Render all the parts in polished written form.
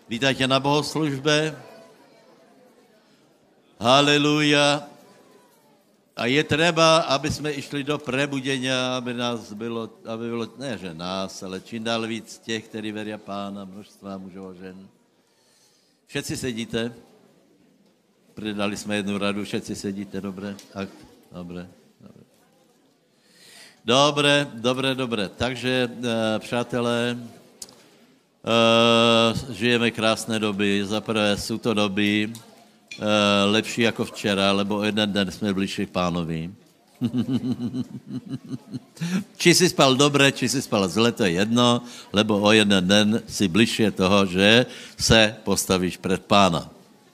Vítajte na bohoslužbe. Haleluja. A je treba, aby jsme išli do prebudenia, aby nás bylo, ne že nás, ale čím dál víc těch, kteří veria Pána, množstva mužov a žen. Všetci sedíte. Predali jsme jednu radu, všetci sedíte, dobre? Dobre. Takže, přátelé, žijeme krásné doby. Zaprvé jsou to doby lepší jako včera, lebo o jeden den jsme bližší k Pánovi. Či si spal dobre, či si spal zle, to je jedno, lebo o jeden den si bližšie toho, že se postavíš před Pána.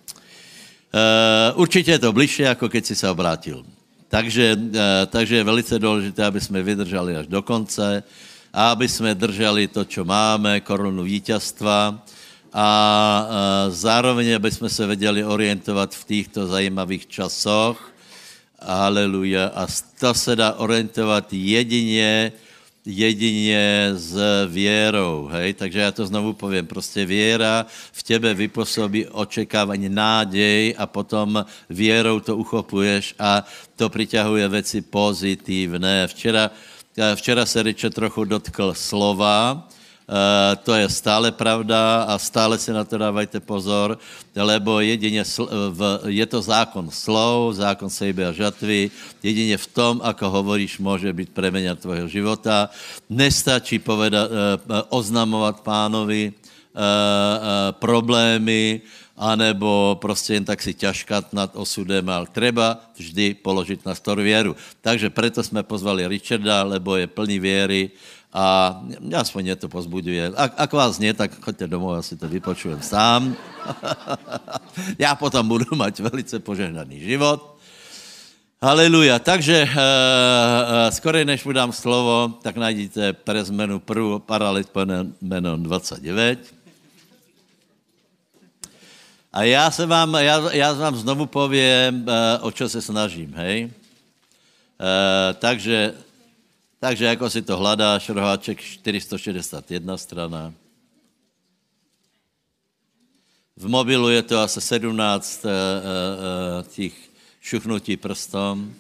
Určitě je to bližšie, jako keď si se obrátil. Takže je velice důležité, aby jsme vydrželi až do konce a aby jsme drželi to, čo máme, korunu víťazstva a zároveň, aby jsme se věděli orientovat v týchto zajímavých časoch. Haleluja. A to se dá orientovat jedině s věrou, hej? Takže já to znovu povím, prostě věra v tebe vypůsobí očekávání, nádej a potom věrou to uchopuješ a to přiťahuje věci pozitívne. Včera se Richard trochu dotkl slova, to je stále pravda a stále si na to dávajte pozor, lebo jedině je to zákon slov, zákon sejby a žatvy, jedině v tom, ako hovoríš, může být premena tvojho života. Nestačí oznamovat Pánovi problémy, anebo prostě jen tak si ťažkat nad osudem, ale treba vždy položit na stôl věru. Takže preto jsme pozvali Richarda, lebo je plný věry, a aspoň mě to pozbuduje. Ak vás nie, tak choďte domov, já si to vypočujem sám. Já potom budu mať velice požehnaný život. Haleluja. Takže skorej než mu dám slovo, tak najdete pre zmenu prvú Paralipomena 29. A já vám znovu povím, o čo se snažím, hej? Takže jako si to hledáš, roháček 461 strana. V mobilu je to asi 17 těch šuchnutí prstom.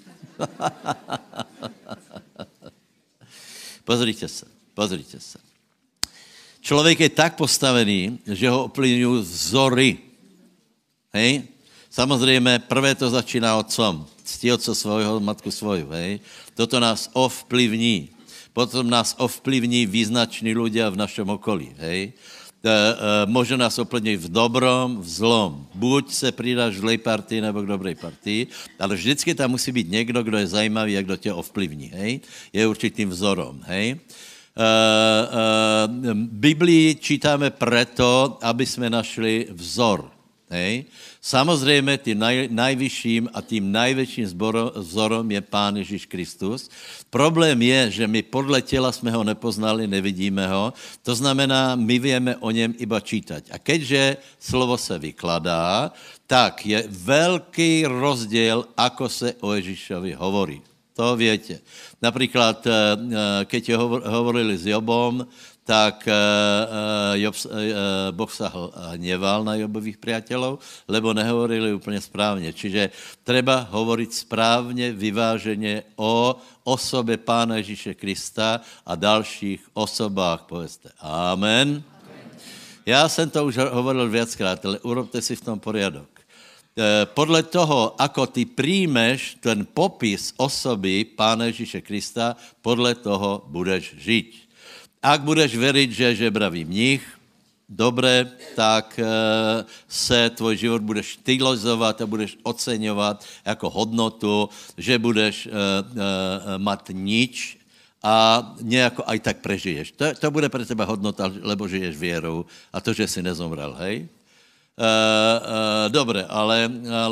Pozrite se. Člověk je tak postavený, že ho ovplyvňují vzory. Hej? Samozřejmě prvé to začíná otcom. Ctí otce svojho, matku svoju, hej. Toto nás ovplyvní. Potom nás ovplyvní význační ľudia v našem okolí, hej. Môže nás ovplyvniť v dobrom, v zlom. Buď se pridáš v zlej partii, nebo k dobrej partii, ale vždycky tam musí být někdo, kdo je zajímavý a kdo tě ovplyvní, hej. Je určitým vzorom, hej. Biblii čítáme preto, aby jsme našli vzor, hej. Samozrejme, tým najvyšším a tým najväčším vzorom je Pán Ježíš Kristus. Problém je, že my podle těla jsme ho nepoznali, nevidíme ho. To znamená, my vieme o něm iba čítať. A keďže slovo se vykladá, tak je velký rozdiel, ako se o Ježíšovi hovorí. To viete. Napríklad, keď hovorili s Jobom, tak Boh sa hneval na Jobových priateľov, lebo nehovorili úplne správne. Čiže treba hovoriť správne, vyvážene o osobe Pána Ježíše Krista a dalších osobách. Povedzte amen. Já jsem to už hovoril viackrát, ale urobte si v tom poriadok. Podle toho, ako ty príjmeš ten popis osoby Pána Ježíše Krista, podle toho budeš žiť. Ak budeš veriť, že je žebravý mních, dobre, tak se tvoj život budeš stylizovat a budeš oceňovat jako hodnotu, že budeš mať nič a nejako aj tak prežiješ. To bude pre teba hodnota, lebo žiješ vierou a to, že si nezomrel, hej? Dobre, ale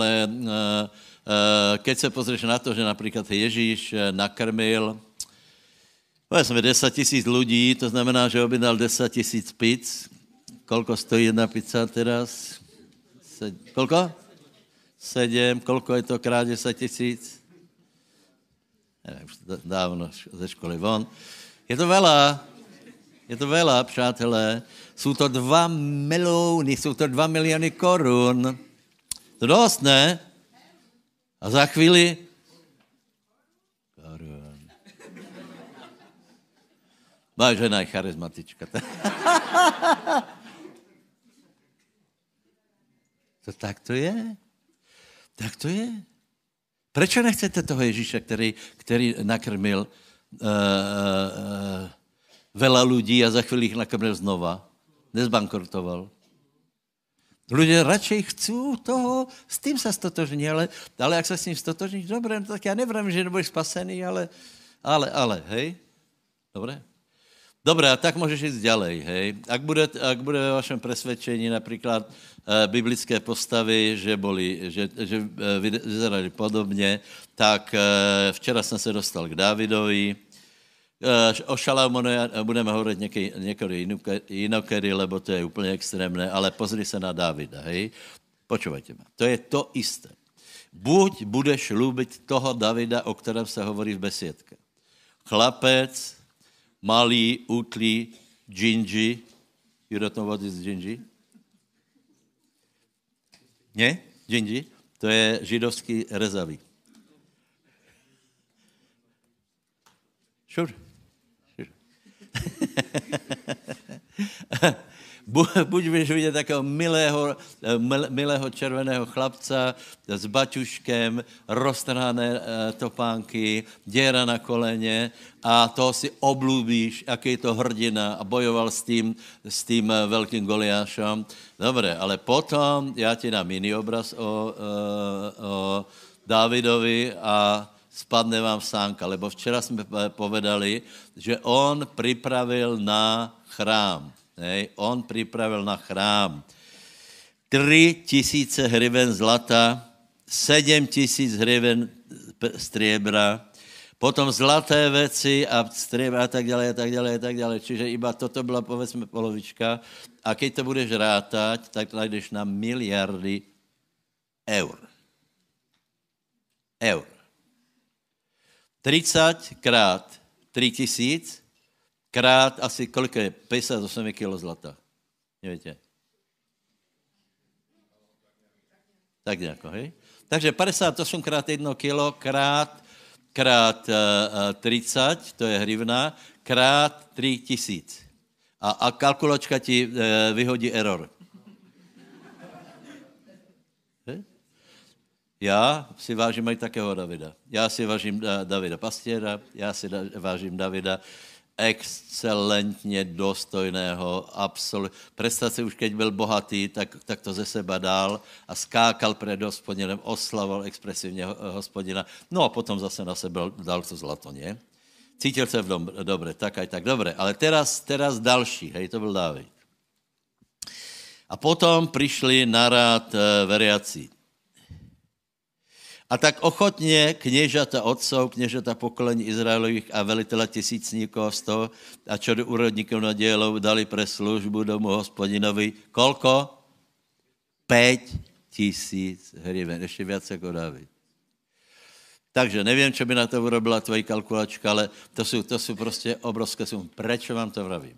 keď se pozrieš na to, že napríklad Ježíš nakrmil povedzme 10 000 ľudí, to znamená, že objednal 10 000 pizz. Koľko stojí jedna pizza teraz? Koľko? 7. Koľko je to krát 10 000? Neviem, už dávno ze školy von. Je to veľa, přátelé. Jsou to 2 miliony, jsou to 2 miliony korun. To dost, ne? A za chvíli... Korun. Moja žena je charizmatička. To tak to je. Tak to je. Prečo nechcete toho Ježíše, který nakrmil veľa ľudí a za chvíli ich nakrmil znova? Nezbankrotoval. Ľudia radšej chcú toho, s tým sa stotožní, ale ak sa s ním stotožníš, dobre, no tak ja nevrám, že nebudeš spasený, ale, hej? Dobre? Dobre, a tak môžeš ísť ďalej, hej? Ak bude ve vašem presvedčení napríklad biblické postavy, že vyzerali podobne, tak včera som sa dostal k Dávidovi. O Šalamóne budeme hovoriť niekedy inokedy, lebo to je úplne extrémne, ale pozri sa na Dávida, hej? Počúvajte ma. To je to isté. Buď budeš ľúbiť toho Davida, o ktorom sa hovorí v besiedke. Chlapec, malý, útlý, džinži. You don't know what is džinži? Nie? Džinži? To je židovský rezavý. Sure. Buď budeš vidět takého milého červeného chlapca s baťuškem, roztrhané topánky, děra na koleně a toho si oblúbíš, aký je to hrdina a bojoval s tím velkým Goliášem. Dobre, ale potom já ti dám jiný obraz o Dávidovi a spadne vám sánka, lebo včera jsme povedali, že on pripravil na chrám. Hej? On pripravil na chrám 3,000 hryven zlata, 7,000 hryven striebra, potom zlaté veci a striebra a tak ďalej. Čiže iba toto byla, povedzme, polovička. A keď to budeš rátať, tak najdeš na miliardy eur. 30 krát 3,000 krát asi koľko je? 58 kg zlata. Neviete? Tak nejako, hej? Takže 58 krát 1 kilo krát 30, to je hrivna, krát 3,000. A kalkulačka ti vyhodí error. Já si vážím aj takého Davida. Já si vážím Davida Pastiera, já si vážím Davida excelentně dostojného, absolutně. Představ si už, keď byl bohatý, tak to ze seba dal a skákal před Hospodinem, oslavoval expresivně Hospodina. No a potom zase na sebe dal to zlato, nie? Cítil se v dom, dobre, tak aj tak, dobre. Ale teraz další, hej, to byl Dávid. A potom přišli na rád veriaci. A tak ochotně kniežata otcov, kniežata pokolení Izraelových a velitele tisícníkov z toho a čo do úrodníkov na dielov dali pre službu domu Hospodinovi. Kolko? 5,000 hryven. Ještě viac jako Dávid. Takže nevím, čo by na to urobila tvojí kalkulačka, ale to jsou prostě obrovské sumy. Prečo vám to vravím?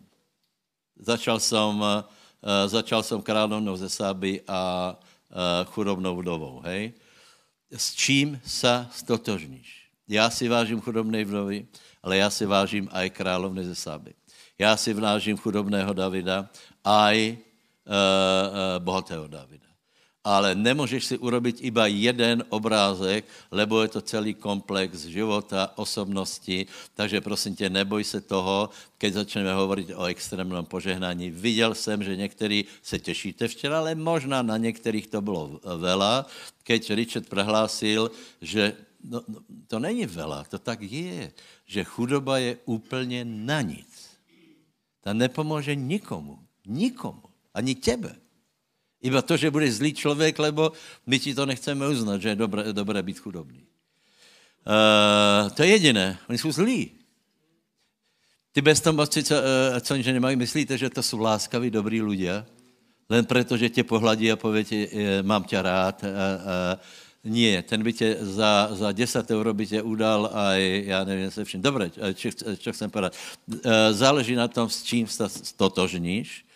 Začal som kráľovnou ze Sáby a chudobnou vdovou, hej? S čím sa stotožníš? Já si vážím chudobnej vdovy, ale já si vážím aj královny ze Sáby. Já si vážím chudobného Davida, aj bohatého Davida. Ale nemůžeš si urobiť iba jeden obrázek, lebo je to celý komplex života, osobnosti, takže prosím tě, neboj se toho, keď začneme hovoriť o extrémnom požehnání. Viděl jsem, že někteří se těšíte včera, ale možná na některých to bylo veľa, keď Richard prehlásil, že to není veľa, to tak je, že chudoba je úplně na nic. Ta nepomůže nikomu, ani tebe. Iba to, že budeš zlý člověk, lebo my ti to nechceme uznat, že je dobré být chudobný. To je jediné. Oni jsou zlí. Ty bezdomovci, co že nemají, myslíte, že to jsou láskaví, dobrý ľudia? Len preto, že tě pohladí a pově ti, mám tě rád. Nie, ten by tě za 10 euro by tě udal a já nevím se vším. Dobre, čo chcem povedať. Záleží na tom, s čím sa stotožníš.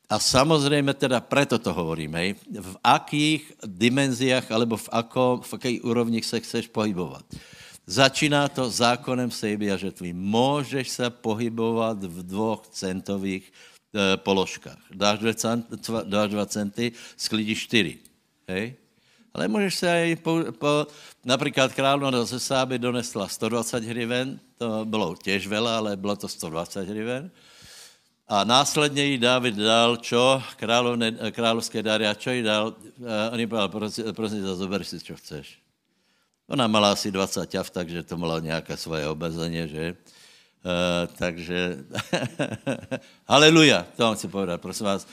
A samozrejme teda preto to hovorím, hej, v akých dimenziách alebo v akej úrovni sa chceš pohybovať. Začíná to zákonem sejby a žetvy. Môžeš sa pohybovať v 2 centových položkách. Dáš 2 centy, sklidíš 4. Hej? Ale môžeš sa aj napríklad kráľovna ze Sáby donesla 120 hryven, to bylo tiež veľa, ale bylo to 120 hryven. A následne jí Dávid dal čo? Kráľovské dary. A čo jí dal? On jí povedal, prosím ťa, zober si, čo chceš. Ona mala asi 20 ťav, takže to mala nejaké svoje obezenie, že? Takže, haleluja, to vám chci povedať, prosím vás,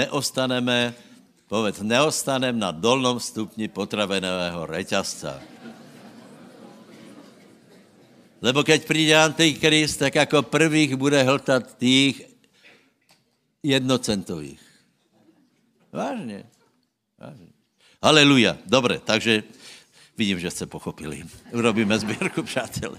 neostanem na dolnom stupni potravinového reťazca. Lebo keď príde Antikrist, tak ako prvých bude hltať tých jednocentových. Vážne. Haleluja. Dobre, takže vidím, že ste pochopili. Urobíme zbierku, přátelé.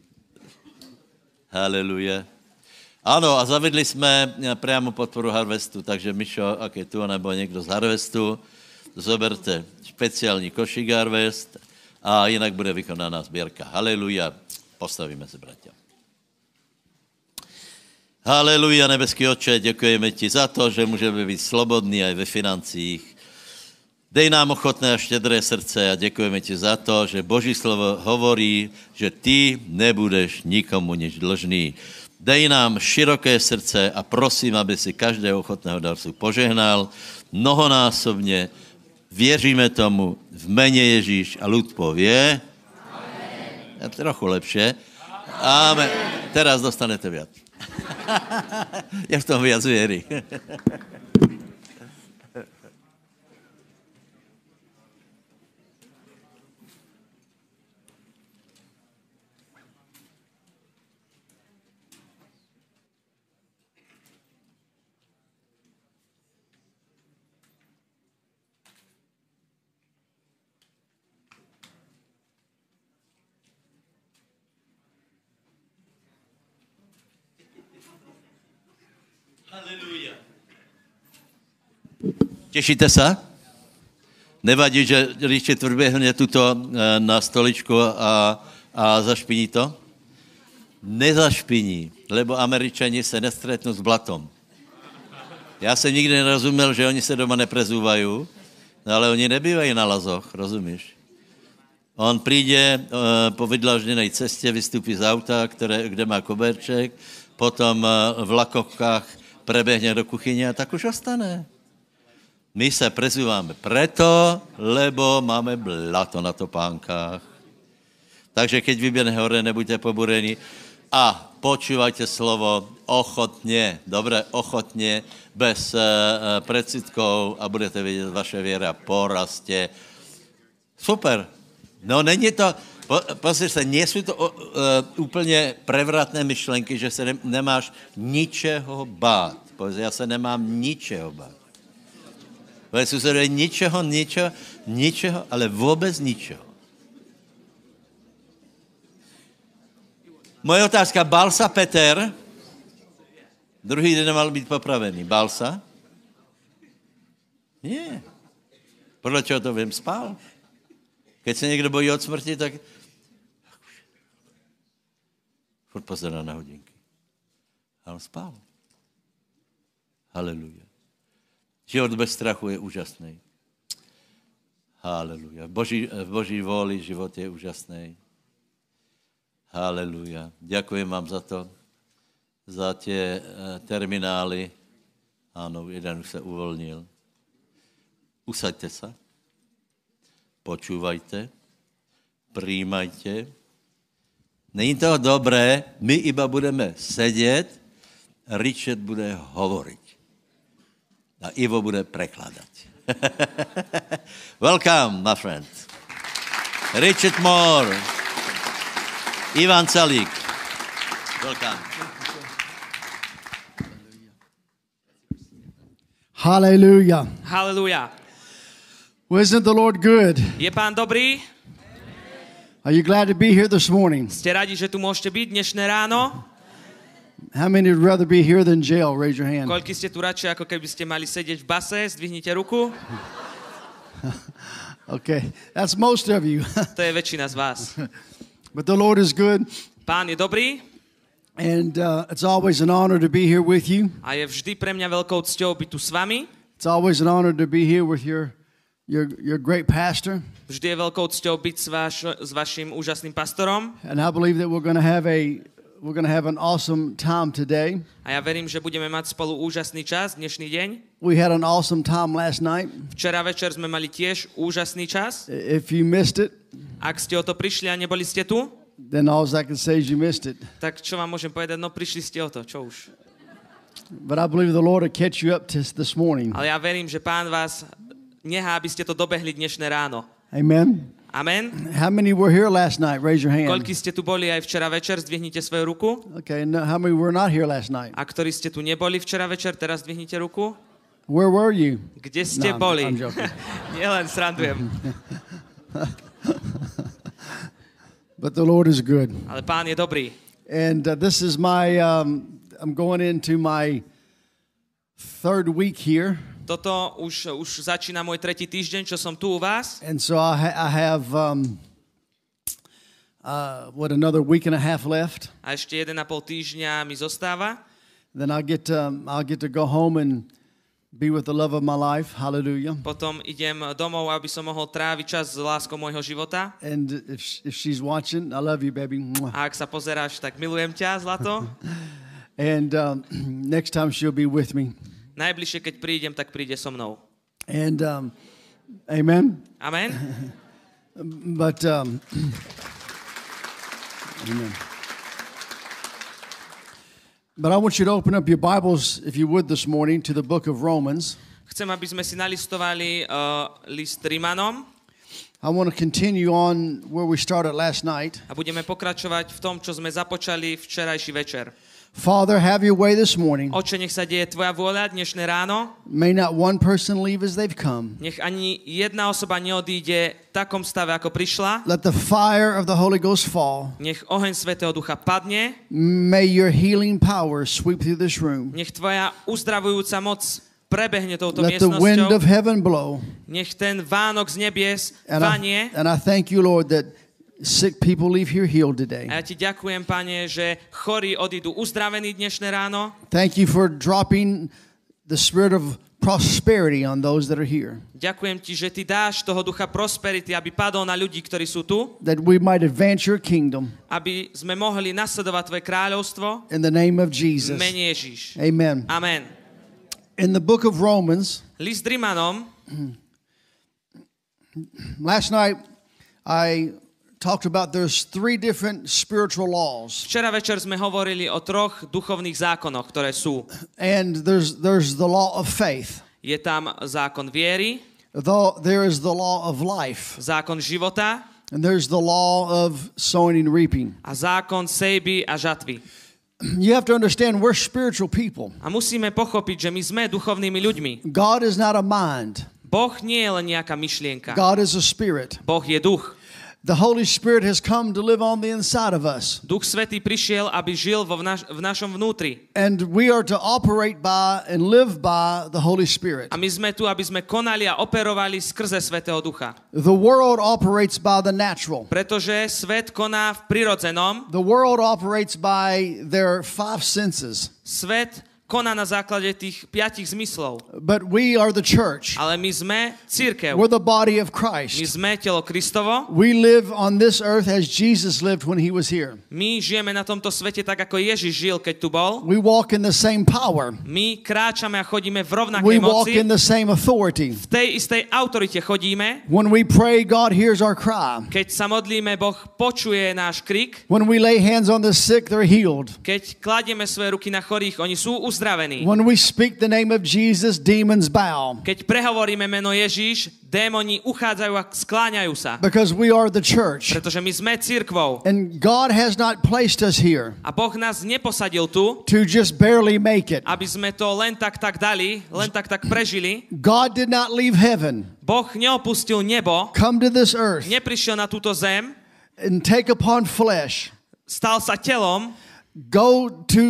Haleluja. Áno, a zavedli sme priamo podporu Harvestu, takže Mišo, ak je tu, nebo niekto z Harvestu, zoberte špeciálny košík Harvest a inak bude vykonaná zbierka. Haleluja. Postavíme se, bratia. Haleluja, nebeský Otče, děkujeme ti za to, že můžeme být slobodní aj ve financích. Dej nám ochotné a štědré srdce a děkujeme ti za to, že Boží slovo hovorí, že ty nebudeš nikomu nič dlžný. Dej nám široké srdce a prosím, aby si každého ochotného darcu požehnal mnohonásobně. Věříme tomu v mene Ježíš a ľud povie. Amen. Trochu lepšie. Amen. Teraz dostanete viac. Je v tom viac viery. Halleluja. Tešíte sa? Nevadí, že Richard vrběhne tuto na stoličku a zašpiní to? Nezašpiní, lebo Američani se nestretnú s blatom. Já jsem nikdy nerozuměl, že oni se doma neprezúvají, ale oni nebývají na lazoch, rozumíš? On přijde po vydlažděnej cestě, vystupí z auta, kde má koberček, potom v lakovkách prebehne do kuchyne a tak už ostane. My sa prezývame preto, lebo máme blato na topánkách. Takže keď vyběhne hore, nebuďte poburení a počúvajte slovo ochotne, dobre, ochotne, bez predsudkov a budete vidieť, vaše viera porastie. Super. No není to... Pozri sa, nie sú to úplne prevratné myšlenky, že sa nemáš ničeho bát. Pozri, ja sa nemám ničeho bát. Sú sa ničeho, ale vôbec ničeho. Moja otázka, bál sa Peter? Druhý deň mal byť popravený. Bál sa? Nie. Podľa čoho to viem, spál. Keď sa niekto bojí od smrti, tak furt pozerá na hodinky. A on spál. Haleluja. Život bez strachu je úžasný. Haleluja. V Boží vôli život je úžasný. Haleluja. Ďakujem vám za to, za tie terminály. Áno, jeden už sa uvoľnil. Usaďte sa. Počúvajte. Prijímajte. Není to dobré, my iba budeme sedět, Richard bude hovoriť. A Ivo bude prekladať. Welcome, my friend. Richard Moore. Ivan Calík. Welcome. Hallelujah. Hallelujah. Wasn't the Lord good? Je Pán dobrý? Are you glad to be here this morning? Ste radi, že tu môžete byť dnešné ráno? How many would rather be here than jail? Raise your hand. Koľko ste tu radšej, ako keby ste mali sedieť v base? Zdvihnite ruku. Okay, that's most of you. To je väčšina z vás. But the Lord is good, Pán je dobrý and it's always an honor to be here with you. a je vždy pre mňa veľkou cťou byť tu s vami. It's always an honor to be here with your great pastor. Vždy je veľkou cťou byť s vašim úžasným pastorom. And I believe that we're going to have an awesome time today. A ja verím, že budeme mať spolu úžasný čas dnešný deň. We had an awesome time last night. Včera večer sme mali tiež úžasný čas. If you missed it, Ak ste o to prišli a neboli ste tu, then all I can say is you missed it. tak čo vám môžem povedať? No prišli ste o to, čo už. But I believe the Lord will catch you up this morning. Ale ja verím, že Pán vás nechá, aby ste to dobehli dnešné ráno. Amen. Amen. How many were here last night? Raise your hand. Koľko ste tu boli aj včera večer, zdvihnite svoju ruku. Okay, no, how many were not here last night? A ktorí ste tu neboli včera večer, teraz zdvihnite ruku. Where were you? Kde ste No, boli? I'm joking. Nielen srandujem. But the Lord is good. Ale Pán je dobrý. And this is I'm going into my third week here. Toto už začína môj tretí týždeň, čo som tu u vás. And so I have another week and a half left. A ešte 1,5 týždňa mi zostáva. Then I'll get to go home and be with the love of my life. Hallelujah. Potom idem domov, aby som mohol tráviť čas s láskou môjho života. And if she's watching, I love you, baby. A ak sa pozeráš, tak milujem ťa, zlato. And next time she'll be with me. Najbližšie, keď prídem, tak príde so mnou. And amen. Amen. But amen. But I want you to open up your Bibles, if you would, this morning to the book of Romans. Chcem, aby sme si nalistovali list Rimanom I want to continue on where we started last night. a budeme pokračovať v tom, čo sme započali včerajší večer. Father, have your way this morning. Oče, nech sa deje tvoja vôľa dnešné ráno. May not one person leave as they've come. Nech ani jedna osoba neodíde v takom stave, ako prišla. Let the fire of the Holy Ghost fall. Nech oheň Svätého Ducha padne. May your healing power sweep through this room. Nech tvoja uzdravujúca moc prebehne touto Let the wind of miestnosťou. heaven blow. Nech ten Vánok z nebies And vanie. I thank you, Lord, that sick people leave here healed today. A ja ti ďakujem, Pane, že chorí odídu uzdravení dnešné ráno. Thank you for dropping the spirit of prosperity on those that are here. Ďakujem ti, že ty dáš toho ducha prosperity, aby padol na ľudí, ktorí sú tu, That we might advance your kingdom aby sme mohli nasledovať tvoje kráľovstvo. in the name of V Jesus. mene Ježiš. Amen. Amen. In the book of Romans, List Rimanom, last night I talked about there's 3 different spiritual laws. včera večer sme hovorili o 3 duchovných zákonoch, ktoré sú. And there's the law of faith. Je tam zákon viery, Though there is the law of life. zákon života And there's the law of sowing and reaping. a zákon sejby a žatvy. You have to understand we're spiritual people. A musíme pochopiť, že my sme duchovnými ľuďmi. God is not a mind. Boh nie je len nejaká myšlienka. God is a spirit. Boh je duch. The Holy Spirit has come to live on the inside of us. Duch Svätý prišiel, aby žil v našom vnútri. And we are to operate by and live by the Holy Spirit. A my sme tu, aby sme konali a operovali skrze Svätého Ducha. The world operates by the natural. Pretože svet koná v prirodzenom, The world operates by their 5 senses. svet koná na základe tých 5 zmyslov. But we are the church. Ale my sme cirkev. We're the body of My Christ. sme telo Kristovo. We live on this earth as Jesus lived when he was here. My žijeme na tomto svete tak, ako Ježiš žil, keď tu bol. We walk in the same power. My kráčame a chodíme v rovnakej We walk moci. in the same authority. V tej istej autorite chodíme. When we pray, God hears our cry. Keď sa modlíme, Boh počuje náš krik. When we lay hands on the sick, they're healed. Keď kladieme svoje ruky na chorých, oni sú uzdravení. When we speak the name of Jesus, demons bow. Keď prehovoríme meno Ježíš, démoni uchádzajú a skláňajú sa. Because we are the church. Pretože my sme cirkvou. And God has not placed us here A Boh nás neposadil tu, to just barely make it. aby sme to len tak dali, len tak prežili. God did not leave heaven, Boh neopustil nebo, come to this earth, neprišiel na túto zem, and take upon flesh. stal sa telom. go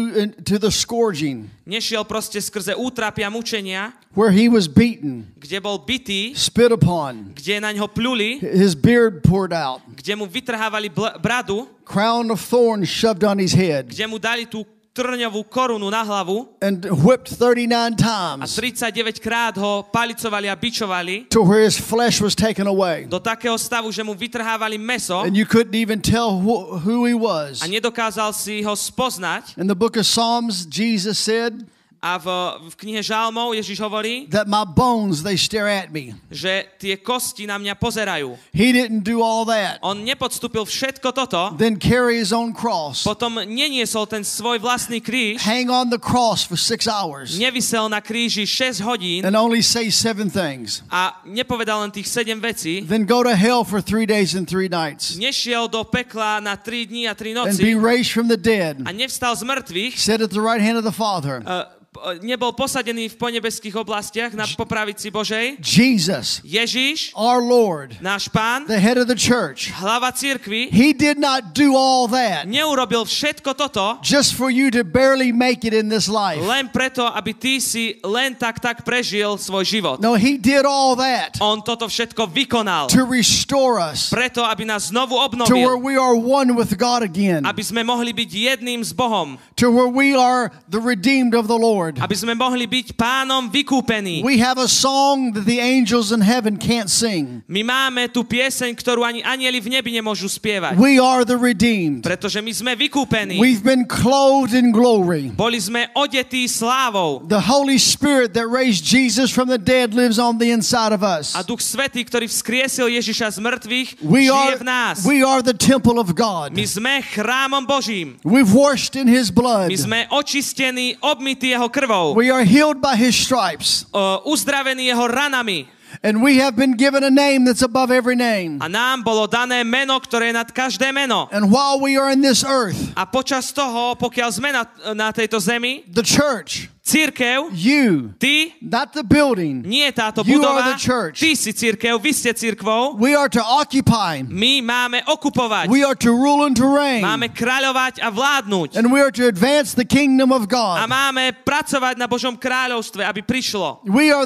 to the scourging, Nešiel proste skrze útrapy a mučenia, where he was beaten, kde bol bitý, spit upon, kde na ňo pluli, his beard poured out, kde mu vytrhávali bradu, crown of thorns shoved on his head, kde mu dali tú trňovú korunu na hlavu and whipped 39 a times 39 krát ho palicovali a bičovali to where his flesh was taken away. do takého stavu, že mu vytrhávali mäso And you couldn't even tell who he was. a nedokázal si ho spoznať. In the book of Psalms, Jesus said A v knihe Žalmov Ježiš hovorí, that my bones, they stare at me. že tie kosti na mňa pozerajú. He didn't do all that. On nepodstúpil všetko toto, Then carry his own cross. potom neniesol ten svoj vlastný kríž, Hang on the cross for 6 hours nevisel na kríži 6 hodín and only say 7 things. a nepovedal len tých 7 vecí. Then go to hell for 3 days and 3 nights Nešiel do pekla na 3 dní a 3 and be noci raised from the dead. a nevstal z mŕtvych, Sit at the right hand of the Father. nebol posadený v ponebeských oblastiach na popravici Božej. Jesus, Ježiš, our Lord, náš Pán, the head of the church, hlava cirkvi, he did not do all that neurobil všetko toto just for you to barely make it in this life. len preto, aby ty si len tak prežil svoj život. No, he did all that On toto všetko vykonal to restore us preto, aby nás znovu to where obnovil, we are one with God again, aby sme mohli byť jedným s Bohom, to where we are the redeemed of the Lord. aby sme mohli byť Pánom vykúpení. We have a song that the angels in heaven can't sing. My máme tú pieseň, ktorú ani anjeli v nebi nemôžu spievať, We are the redeemed. pretože my sme vykúpení. We've been clothed in glory. Boli sme odetí slávou The Holy Spirit that raised Jesus from the dead lives on the inside of us. a Duch Svätý, ktorý vzkriesil Ježiša z mŕtvych, We žije v nás. are the temple of God. My sme chrámom Božím. We've washed in his blood. My sme očistení, obmytí jeho krvou, We are healed by his stripes. uzdravení jeho ranami. And we have been given a name that's above every name. A nám bolo dané meno, ktoré je nad každé meno. And while we are in this earth, A počas toho, pokiaľ sme na tejto zemi, the church, cirkev, you, ty, not the building, nie táto You budova, are the church. ty si cirkev, vy ste cirkvou, we are to occupy. my máme okupovať, We are to rule and to reign. máme kráľovať a vládnuť And we are to advance the kingdom of a God. máme pracovať na Božom kráľovstve, aby prišlo.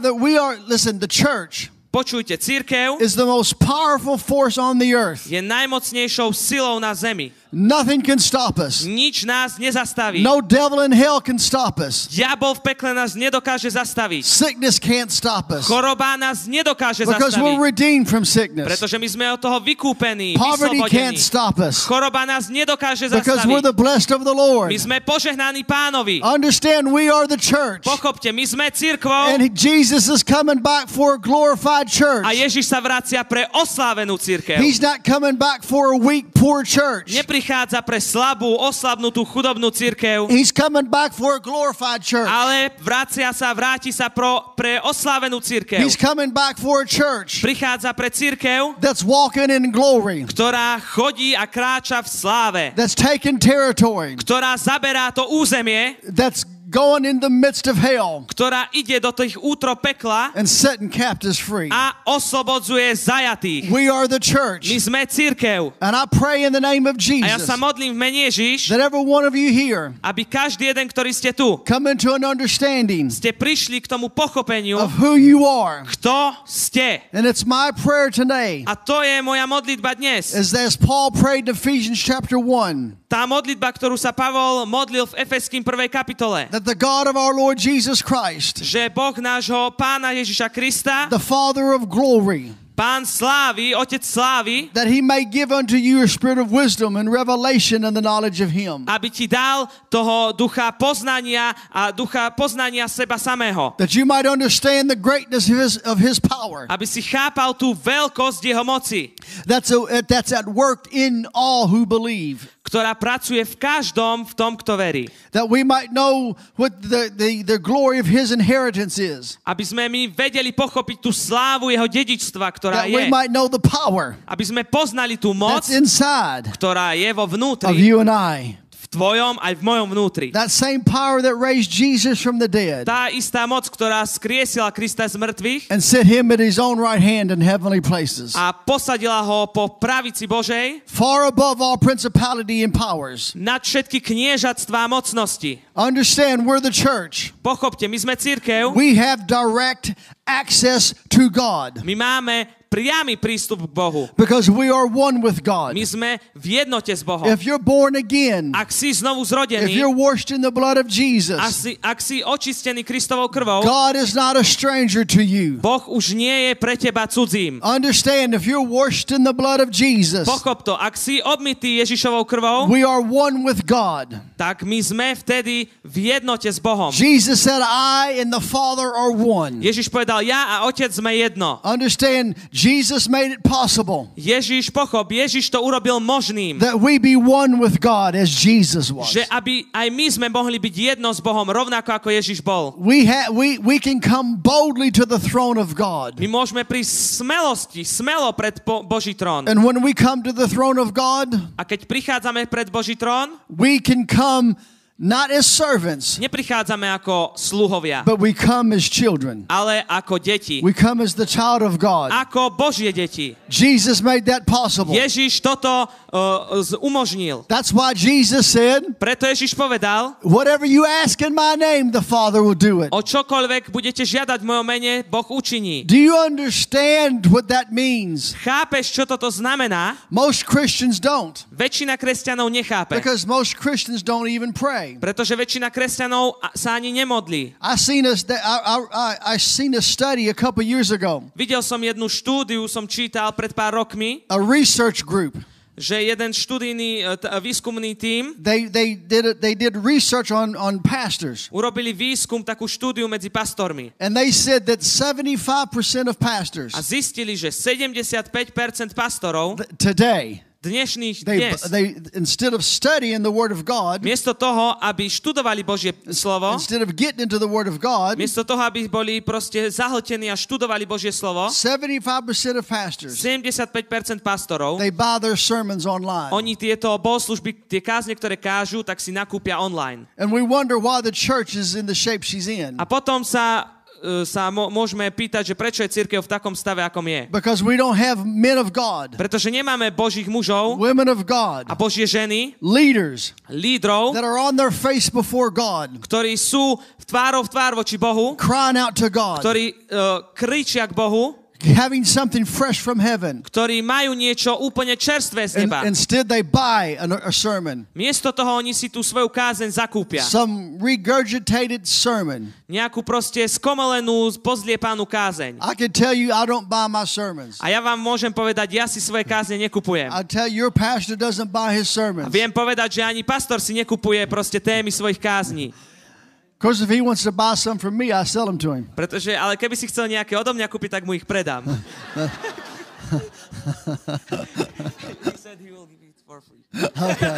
Listen, the church Počujte, cirkev is the most powerful force on the earth. je najmocnejšou silou na zemi. Nothing can stop us. Nič nás nezastaví. No devil in hell can stop us. Diabol v pekle nás nedokáže zastaviť. Sickness can't stop us. Choroba nás nedokáže Because we're zastaviť. redeemed from sickness. Pretože my sme od toho vykúpení, Poverty can't vyslobodení. stop us. Choroba nás nedokáže Because we're zastaviť. the blessed of the Lord. My sme požehnaní Pánovi. Understand, we are the church. Pochopte, my sme cirkvou And Jesus is coming back for a glorified church. a Ježiš sa vracia pre oslávenú cirkev. He's not coming back for a weak, poor church. Neprichádza pre slabú, oslabnutú, chudobnú cirkev, He's coming back for a glorified church. ale vráti sa pre oslávenú cirkev. He's coming back for a church Prichádza pre cirkev, that's walking in glory, ktorá chodí a kráča v sláve, that's taking territory, ktorá zaberá to územie, that's going in the midst of hell ktorá ide do tých útro pekla and setting captives free. a oslobodzuje zajatých. We are the church. My sme cirkev. And I pray in the name of A ja Jesus sa modlím v mene Ježiš, that every one of you here aby každý jeden, ktorý ste tu, come into an understanding ste prišli k tomu pochopeniu, of who you are. kto ste. And it's my prayer today, A to je moja modlitba dnes. as Paul prayed in Ephesians chapter 1, Tá modlitba, ktorú sa Pavol modlil v Efeským 1. kapitole, that the God of our Lord Jesus Christ, že Boh nášho Pána Ježiša Krista, the Father of glory, Pán slávy, Otec slávy, that he may give unto you a spirit of wisdom and revelation and the knowledge of him, aby ti dal toho ducha poznania a ducha poznania seba samého. that you might understand the greatness of his power Aby si chápal tú veľkosť jeho moci, that's at work in all who believe, ktorá pracuje v každom, v tom, kto verí. that we might know what the glory of his inheritance is, Aby sme my vedeli pochopiť tú slávu jeho dedičstva, ktorá that we je. might know the power Aby sme poznali tú moc, that's inside ktorá je vo of vnútri you and I. v tvojom, aj v mojom vnútri. That same power that raised Jesus from the dead Tá istá moc, ktorá skriesila Krista z mŕtvych and set him at his own right hand in heavenly places, a posadila ho po pravici Božej far above all principality and powers. nad všetky kniežatstvá a mocnosti. Understand, we're the church. Pochopte, my sme cirkev, We have direct access to God my máme priamy prístup k Bohu. because we are one with God. My sme v jednote s Bohom. If you're born again, Ak si znovu if zrodený, you're washed in the blood of Jesus, ak si očistený Kristovou krvou, God is not a stranger to you. Boh už nie je pre teba cudzím. Understand, if you're washed in the blood of Jesus, Pochop to, ak si obmytý Ježišovou krvou, we are one with God. tak my sme vtedy v jednote s Bohom. Jesus said, I and the Father are one. Ježiš povedal, ja a Otec sme jedno. Understand, Jesus made it possible Ježiš to urobil možným, that we be one with God as Jesus was. že aby aj my sme mohli byť jedno s Bohom, rovnako ako Ježiš bol. We can come boldly to the throne of God. My môžeme prísť smelo pred Boží trón. And when we come to the throne of God, A keď prichádzame pred Boží trón, we can come not as servants, neprichádzame ako sluhovia, but we come as children. ale ako deti. We come as the child of God. Ako Božie deti. Jesus made that possible. Ježiš toto umožnil. That's why Jesus said, Preto Ježiš povedal, whatever you ask in my name, the Father will do it. o čokoľvek budete žiadať v mojom mene, Boh učiní. Do you understand what that means? Chápeš, čo toto znamená? Most Christians don't, Väčšina kresťanov nechápe. because most Christians don't even pray. Pretože väčšina kresťanov sa ani nemodlí. I seen a study a couple years ago, Videl som jednu štúdiu, som čítal pred pár rokmi, a research group. že jeden študijný výskumný tím They did research on pastors, urobili výskum, takú štúdiu medzi pastormi. and they said that 75% of pastors A zistili, že 75% pastorov today, dnešných they dnes, instead of studying the Word of God, miesto toho, aby študovali Božie slovo, instead of getting into the Word of God, miesto toho, aby boli proste zahltení a študovali Božie slovo, 75% of pastors, 75% pastorov, they buy their sermons online. oni tieto bohoslužby, tie kázne, ktoré kážu, tak si nakúpia online. And we wonder why the church is in the shape she's in. A potom sa môžeme pýtať, že prečo je cirkev v takom stave, akom je. Because we don't have men of God, Pretože nemáme Božích mužov women of God, a Božie ženy, leaders lídrov, that are on their face before God, ktorí sú tvárou v tvár voči Bohu, crying out to God, ktorí kričia k Bohu, having something fresh from heaven. ktorí majú niečo úplne čerstvé z And neba. instead they buy a sermon, Miesto toho oni si tú svoju kázeň zakúpia. some regurgitated sermon. Nejakú proste skomelenú, pozliepanú kázeň. I can tell you I don't buy my sermons. A ja vám môžem povedať, ja si svoje kázne nekupujem. I tell you, your pastor doesn't buy his A sermons. viem povedať, že ani pastor si nekupuje proste témy svojich kázní. Of course, if he wants to buy some from me, I sell them to him. Pretože, ale keby si chcel nejaké odo mňa kúpiť, tak mu ich predám. He said he will give it for free. Okay.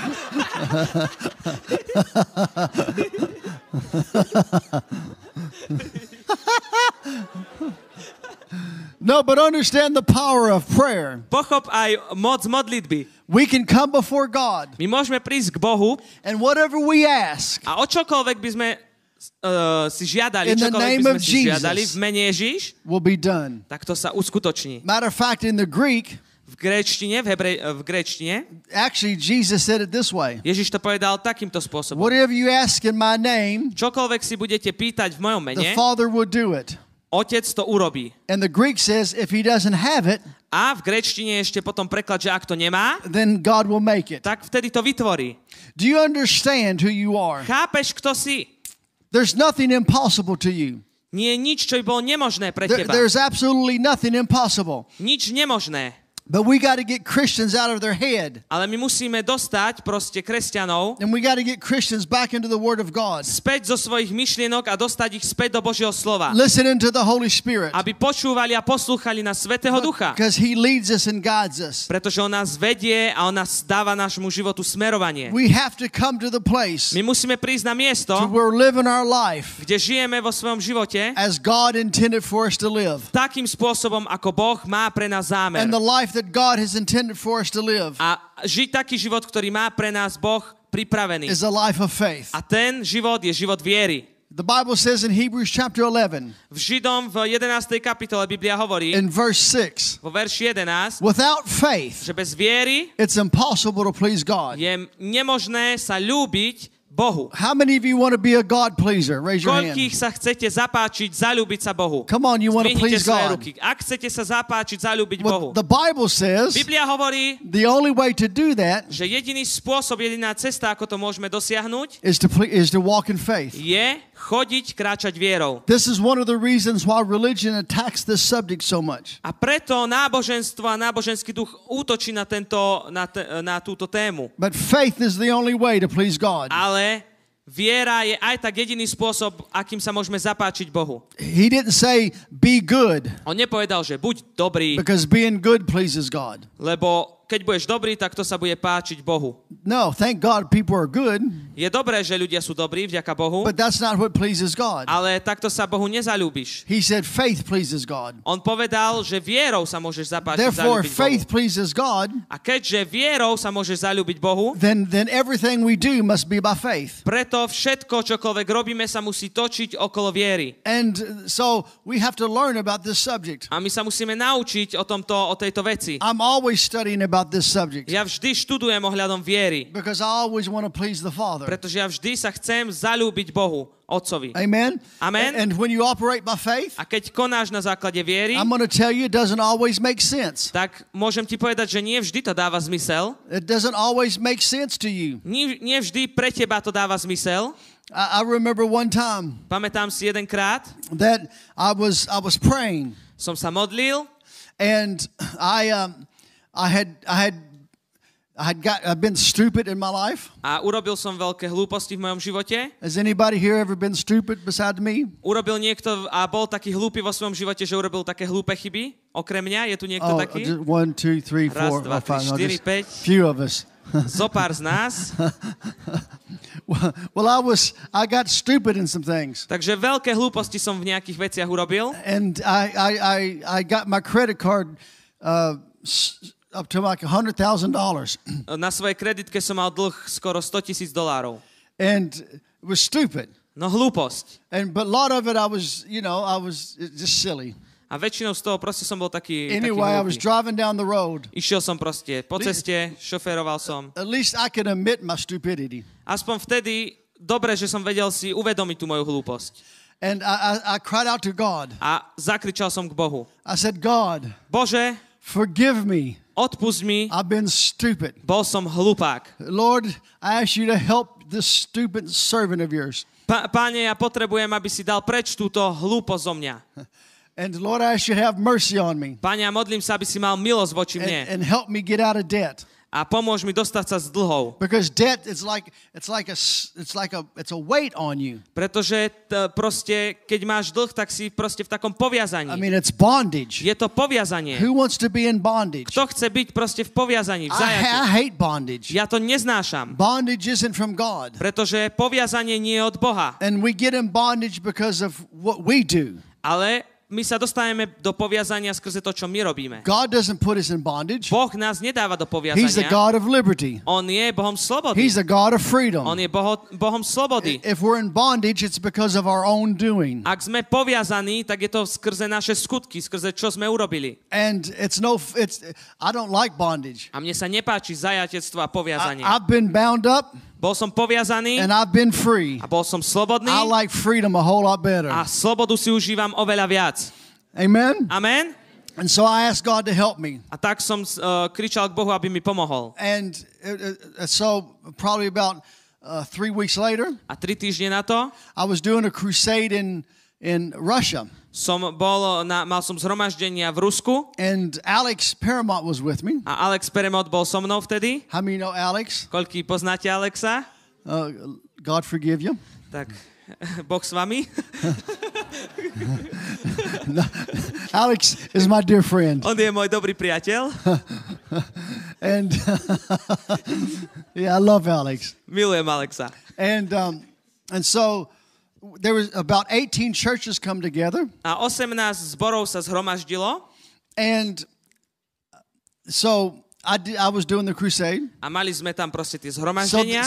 No, but understand the power of prayer. Pochop aj moc modlitby. We can come before God, My môžeme prísť k Bohu and whatever we ask a o čokoľvek by sme si žiadali, In the čokoľvek name by sme of si žiadali Jesus. v mene Ježiš, will be done. tak to sa uskutoční. Matter of fact, in the Greek, V gréčtine, v gréčtine, actually, Jesus said it this way. Ježiš to povedal takýmto spôsobom. Whatever you ask in my name, Čokoľvek si budete pýtať v mojom the mene, Father will do it. Otec to urobí. And the Greek says, if he doesn't have it, A v gréčtine ešte potom preklad, že ak to nemá, then God will make it. tak vtedy to vytvorí. Do you understand who you are? Chápeš, kto si? There's nothing impossible to you. Nie je nič, čo by bolo nemožné pre teba. There's absolutely nothing impossible. Nič nemožné. But we got to get Christians out of their head. Ale my musíme dostať proste kresťanov And we got to get Christians back into the Word of God. späť zo svojich myšlienok a dostať ich späť do Božieho slova. Listening to the Holy Spirit. Aby počúvali a poslúchali na Svätého Ducha. Because He leads us and guides us. Pretože on nás vedie a on nás dáva nášmu životu smerovanie. We have to come to the place My musíme prísť na miesto, to where we're living our life kde žijeme vo svojom živote as God intended for us to live. takým spôsobom, ako Boh má pre nás zámer. And the life that God has intended for us to live. A žiť taký život, ktorý má pre nás Boh pripravený. is a life of faith. A ten život je život viery. The Bible says in Hebrews chapter 11, V Židom v 11. kapitole Biblia hovorí, in verse 6, vo verši 11, without faith, že bez viery it's impossible to please God. je nemožné sa ľúbiť Bohu. How many of you want to be a God pleaser? Raise your Koľkých hand. sa chcete zapáčiť, zaľúbiť sa Bohu? Come on, you want to Zdvihnite please svoje God. ruky. Ak chcete sa zapáčiť, zaľúbiť Well, Bohu. the Bible says Biblia hovorí, the only way to do that že jediný spôsob, jediná cesta, ako to môžeme dosiahnuť, is to walk in faith. je chodiť, kráčať vierou. This is one of the reasons why religion attacks this subject so much. A preto náboženstvo a náboženský duch útočí na túto tému. But faith is the only way to please God. Ale viera je aj tak jediný spôsob, akým sa môžeme zapáčiť Bohu. He didn't say be good, On nepovedal, že buď dobrý, because being good pleases God. lebo keď budeš dobrý, tak to sa bude páčiť Bohu. No, thank God people are good, Je dobré, že ľudia sú dobrí, vďaka Bohu, but that's not what pleases God. ale takto sa Bohu nezaľúbiš. He said faith pleases God. On povedal, že vierou sa môžeš zapáčiť, Therefore, zaľúbiť faith Bohu. pleases God, A keďže vierou sa môžeš zaľúbiť Bohu, then everything we do must be by faith. preto všetko, čokoľvek robíme, sa musí točiť okolo viery. And so we have to learn about this subject. A my sa musíme naučiť o tejto veci. I'm always studying about this subject Ja vždy študujem ohľadom viery, because I always want to please the Father. pretože ja vždy sa chcem zaľúbiť Bohu, Otcovi. Amen? Amen. And when you operate by faith, A keď konáš na základe viery, I'm going to tell you it doesn't always make sense. tak môžem ti povedať, že nie vždy to dáva zmysel. It doesn't always make sense to you. Nie vždy pre teba to dáva zmysel. I remember one time Pamätám si jedenkrát, that I was praying, som sa modlil and I've been stupid in my life. a urobil som veľké hlúposti v mojom živote. Has anybody here ever been stupid besides me? Urobil niekto a bol taký hlúpy vo svojom živote, že urobil také hlúpe chyby? Okrem mňa, je tu niekto taký? Just 1, 2, 3, 4, Raz, dva, tri, 5. štyri, päť. Few of us. Zopár z nás. Well, I got stupid in some things, Takže veľké hlúposti som v nejakých veciach urobil. and I got my credit card up to like $100,000, Na svojej kreditke som mal dlh skoro $100,000. and it was stupid. No hlúposť. But a lot of it, I was just silly. A väčšinou z toho proste som bol taký Anyway, I was hlúpy. driving down the road. Išiel som proste po ceste, šoféroval som. At least I could admit my stupidity. Aspoň vtedy dobre, že som vedel si uvedomiť tú moju hlúposť. And I cried out to God. A zakričal som k Bohu. I said, God, Bože, forgive me. odpusť mi, I've been stupid. bol som hlupák. Lord, I ask you to help this stupid servant of yours. Páne, ja potrebujem, aby si dal preč túto hlúposť zo mňa. And Lord, I ask you to have mercy on me Páne, ja modlím sa, aby si mal milosť voči mne and help me get out of debt. a pomôž mi dostať sa z dlhov. Because debt is it's a weight on you. Pretože proste, keď máš dlh, tak si proste v takom poviazaní. I mean, it's bondage. Je to poviazanie. Who wants to be in bondage? Kto chce byť proste v poviazaní, v I zajatí? hate bondage. Ja to neznášam, Bondage isn't from God. pretože poviazanie nie je od Boha. And we get in bondage because of what we do. Ale my sa dostávame do poviazania skrze to, čo my robíme. God doesn't put us in bondage. Boh nás nedáva do He's the poviazania. God of liberty. On je Bohom slobody. He's the God of freedom. On je Bohom slobody. If we're in bondage, it's because of our own doing. Ak sme poviazaní, tak je to skrze naše skutky, skrze čo sme urobili. And I don't like bondage. A mne sa nepáči zajatectvo a poviazanie. I've been bound up Bol som poviazaný and I've been free. a bol som slobodný I like freedom a whole lot better. a slobodu si užívam oveľa viac. Amen? Amen? And so I asked God to help me. A tak som kričal k Bohu, aby mi pomohol. And so probably about 3 weeks later, A 3 týždne na to I was doing a crusade in Russia. mal som zhromaždenia v Rusku And Alex Paramount was with me. a Alex Peremot bol so mnou vtedy. How many know Alex? Koľký poznáte Alexa? God forgive you. Tak, Boh s vami. No, Alex is my dear friend. On je môj dobrý priateľ. And yeah, I love Alex. Milujem Alexa. And so there was about 18 churches come together. A 18 zborov sa zhromaždilo. And so I was doing the crusade. a mali sme tam proste tie So, zhromaždenia.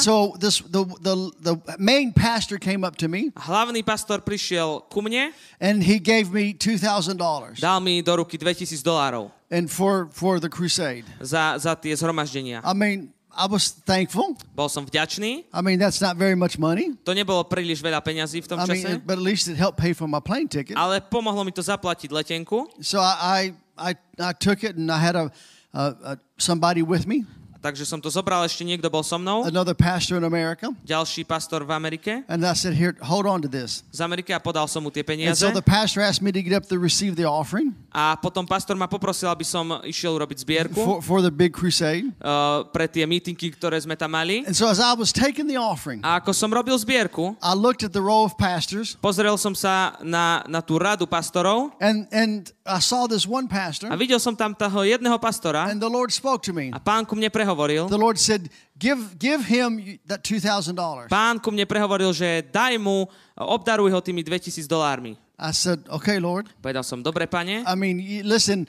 the main pastor came up to me Hlavný pastor prišiel ku mne, and he gave me $2,000 dal mi do ruky $2,000 and for the crusade. za tie zhromaždenia. I mean, I was thankful. Bol som vďačný. I mean, that's not very much money. To nebolo príliš veľa peňazí v tom I mean, čase, but at least it helped pay for my plane ticket. ale pomohlo mi to zaplatiť letenku. So I took it and I had somebody with me, Takže som to zobral, ešte niekto bol so mnou, another pastor in America. ďalší pastor v Amerike, And I said, here, hold on to this. z Ameriky, a podal som mu tie And peniaze. so the pastor asked me to get up to receive the offering A potom pastor ma poprosil, aby som išiel urobiť zbierku for the big crusade. pre tie meetingy, ktoré sme tam mali. And so as I was taking the offering, A ako som robil zbierku, I looked at the row of pastors pozrel som sa na tú radu pastorov and I saw this one pastor a videl som tam toho jedného pastora and the Lord spoke to me. a pán ku mne prehovoril. The Lord said, give him that $2,000. Pán ku mne prehovoril, že daj mu, obdaruj ho tými $2,000. I said, okay, Lord. Povedal som, dobre, pane. I mean, listen,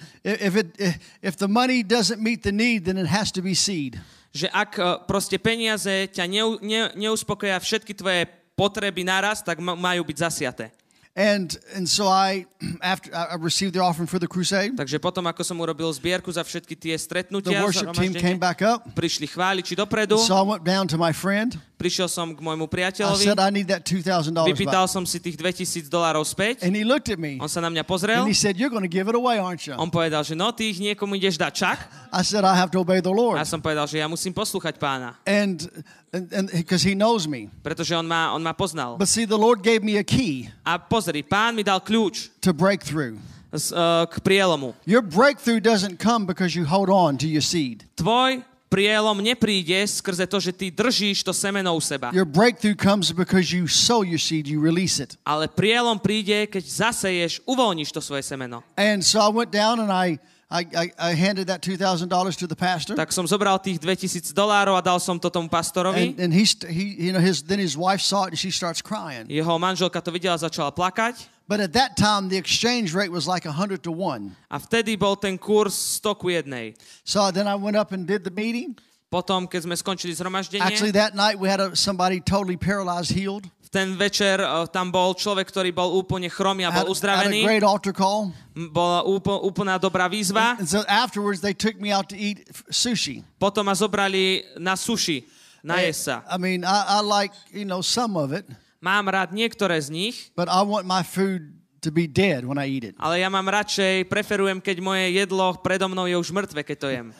if the money doesn't meet the need, then it has to be seed. Že ak proste peniaze ťa neuspokoja všetky tvoje potreby naraz, tak majú byť zasiaté. And so after I received the offering for the crusade, Takže potom, ako som urobil zbierku za všetky tie the stretnutia, worship team came back up. prišli chváliči dopredu, So I went down to my friend. prišiel som k môjmu I priateľovi, said, I need that $2,000 vypýtal back. som si tých $2,000 späť, And he looked at me on sa na mňa pozrel, and he said, you're going to give it away, aren't you? on povedal, že no, ty ich niekomu ideš dať, čak? I said, I have to obey the A Lord. ja som povedal, že ja musím poslúchať pána, And because he knows me. pretože on ma poznal. But see, the Lord gave me a key A pozri, pán mi dal kľúč to breakthrough. k prielomu. Your breakthrough doesn't come because you hold on to your seed. Tvoj prielom nepríde skrze to, že ty držíš to semeno u seba. Your breakthrough comes because you sow your seed, you release it. Ale prielom príde, keď zaseješ, uvoľníš to svoje semeno. And so I went down and I handed that $2,000 to the pastor. Tak som zobral tých $2,000 a dal som to tomu pastorovi. And then his wife saw it and she starts crying. Jeho manželka to videla, začala plakať. But at that time, the exchange rate was like 100 to 1. A vtedy bol ten kurz 100:1. So then I went up and did the meeting. Potom, keď sme skončili zhromaždenie, Actually, that night we had somebody totally paralyzed healed. v ten večer tam bol človek, ktorý bol úplne chromý a Had bol a uzdravený. great altar call. Bola úplná dobrá výzva. And so afterwards, they took me out to eat sushi. Potom ma zobrali na sushi, na jesť sa. I mean, I like, some of it, Mám rád niektoré z nich, but I want my food to be dead when I eat it. ale ja mám radšej, preferujem, keď moje jedlo predo mnou je už mŕtve, keď to jem.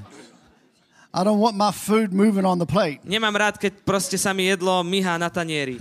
I don't want my food moving on the plate. Nemám rád, keď proste sa mi jedlo myhá na tanieri.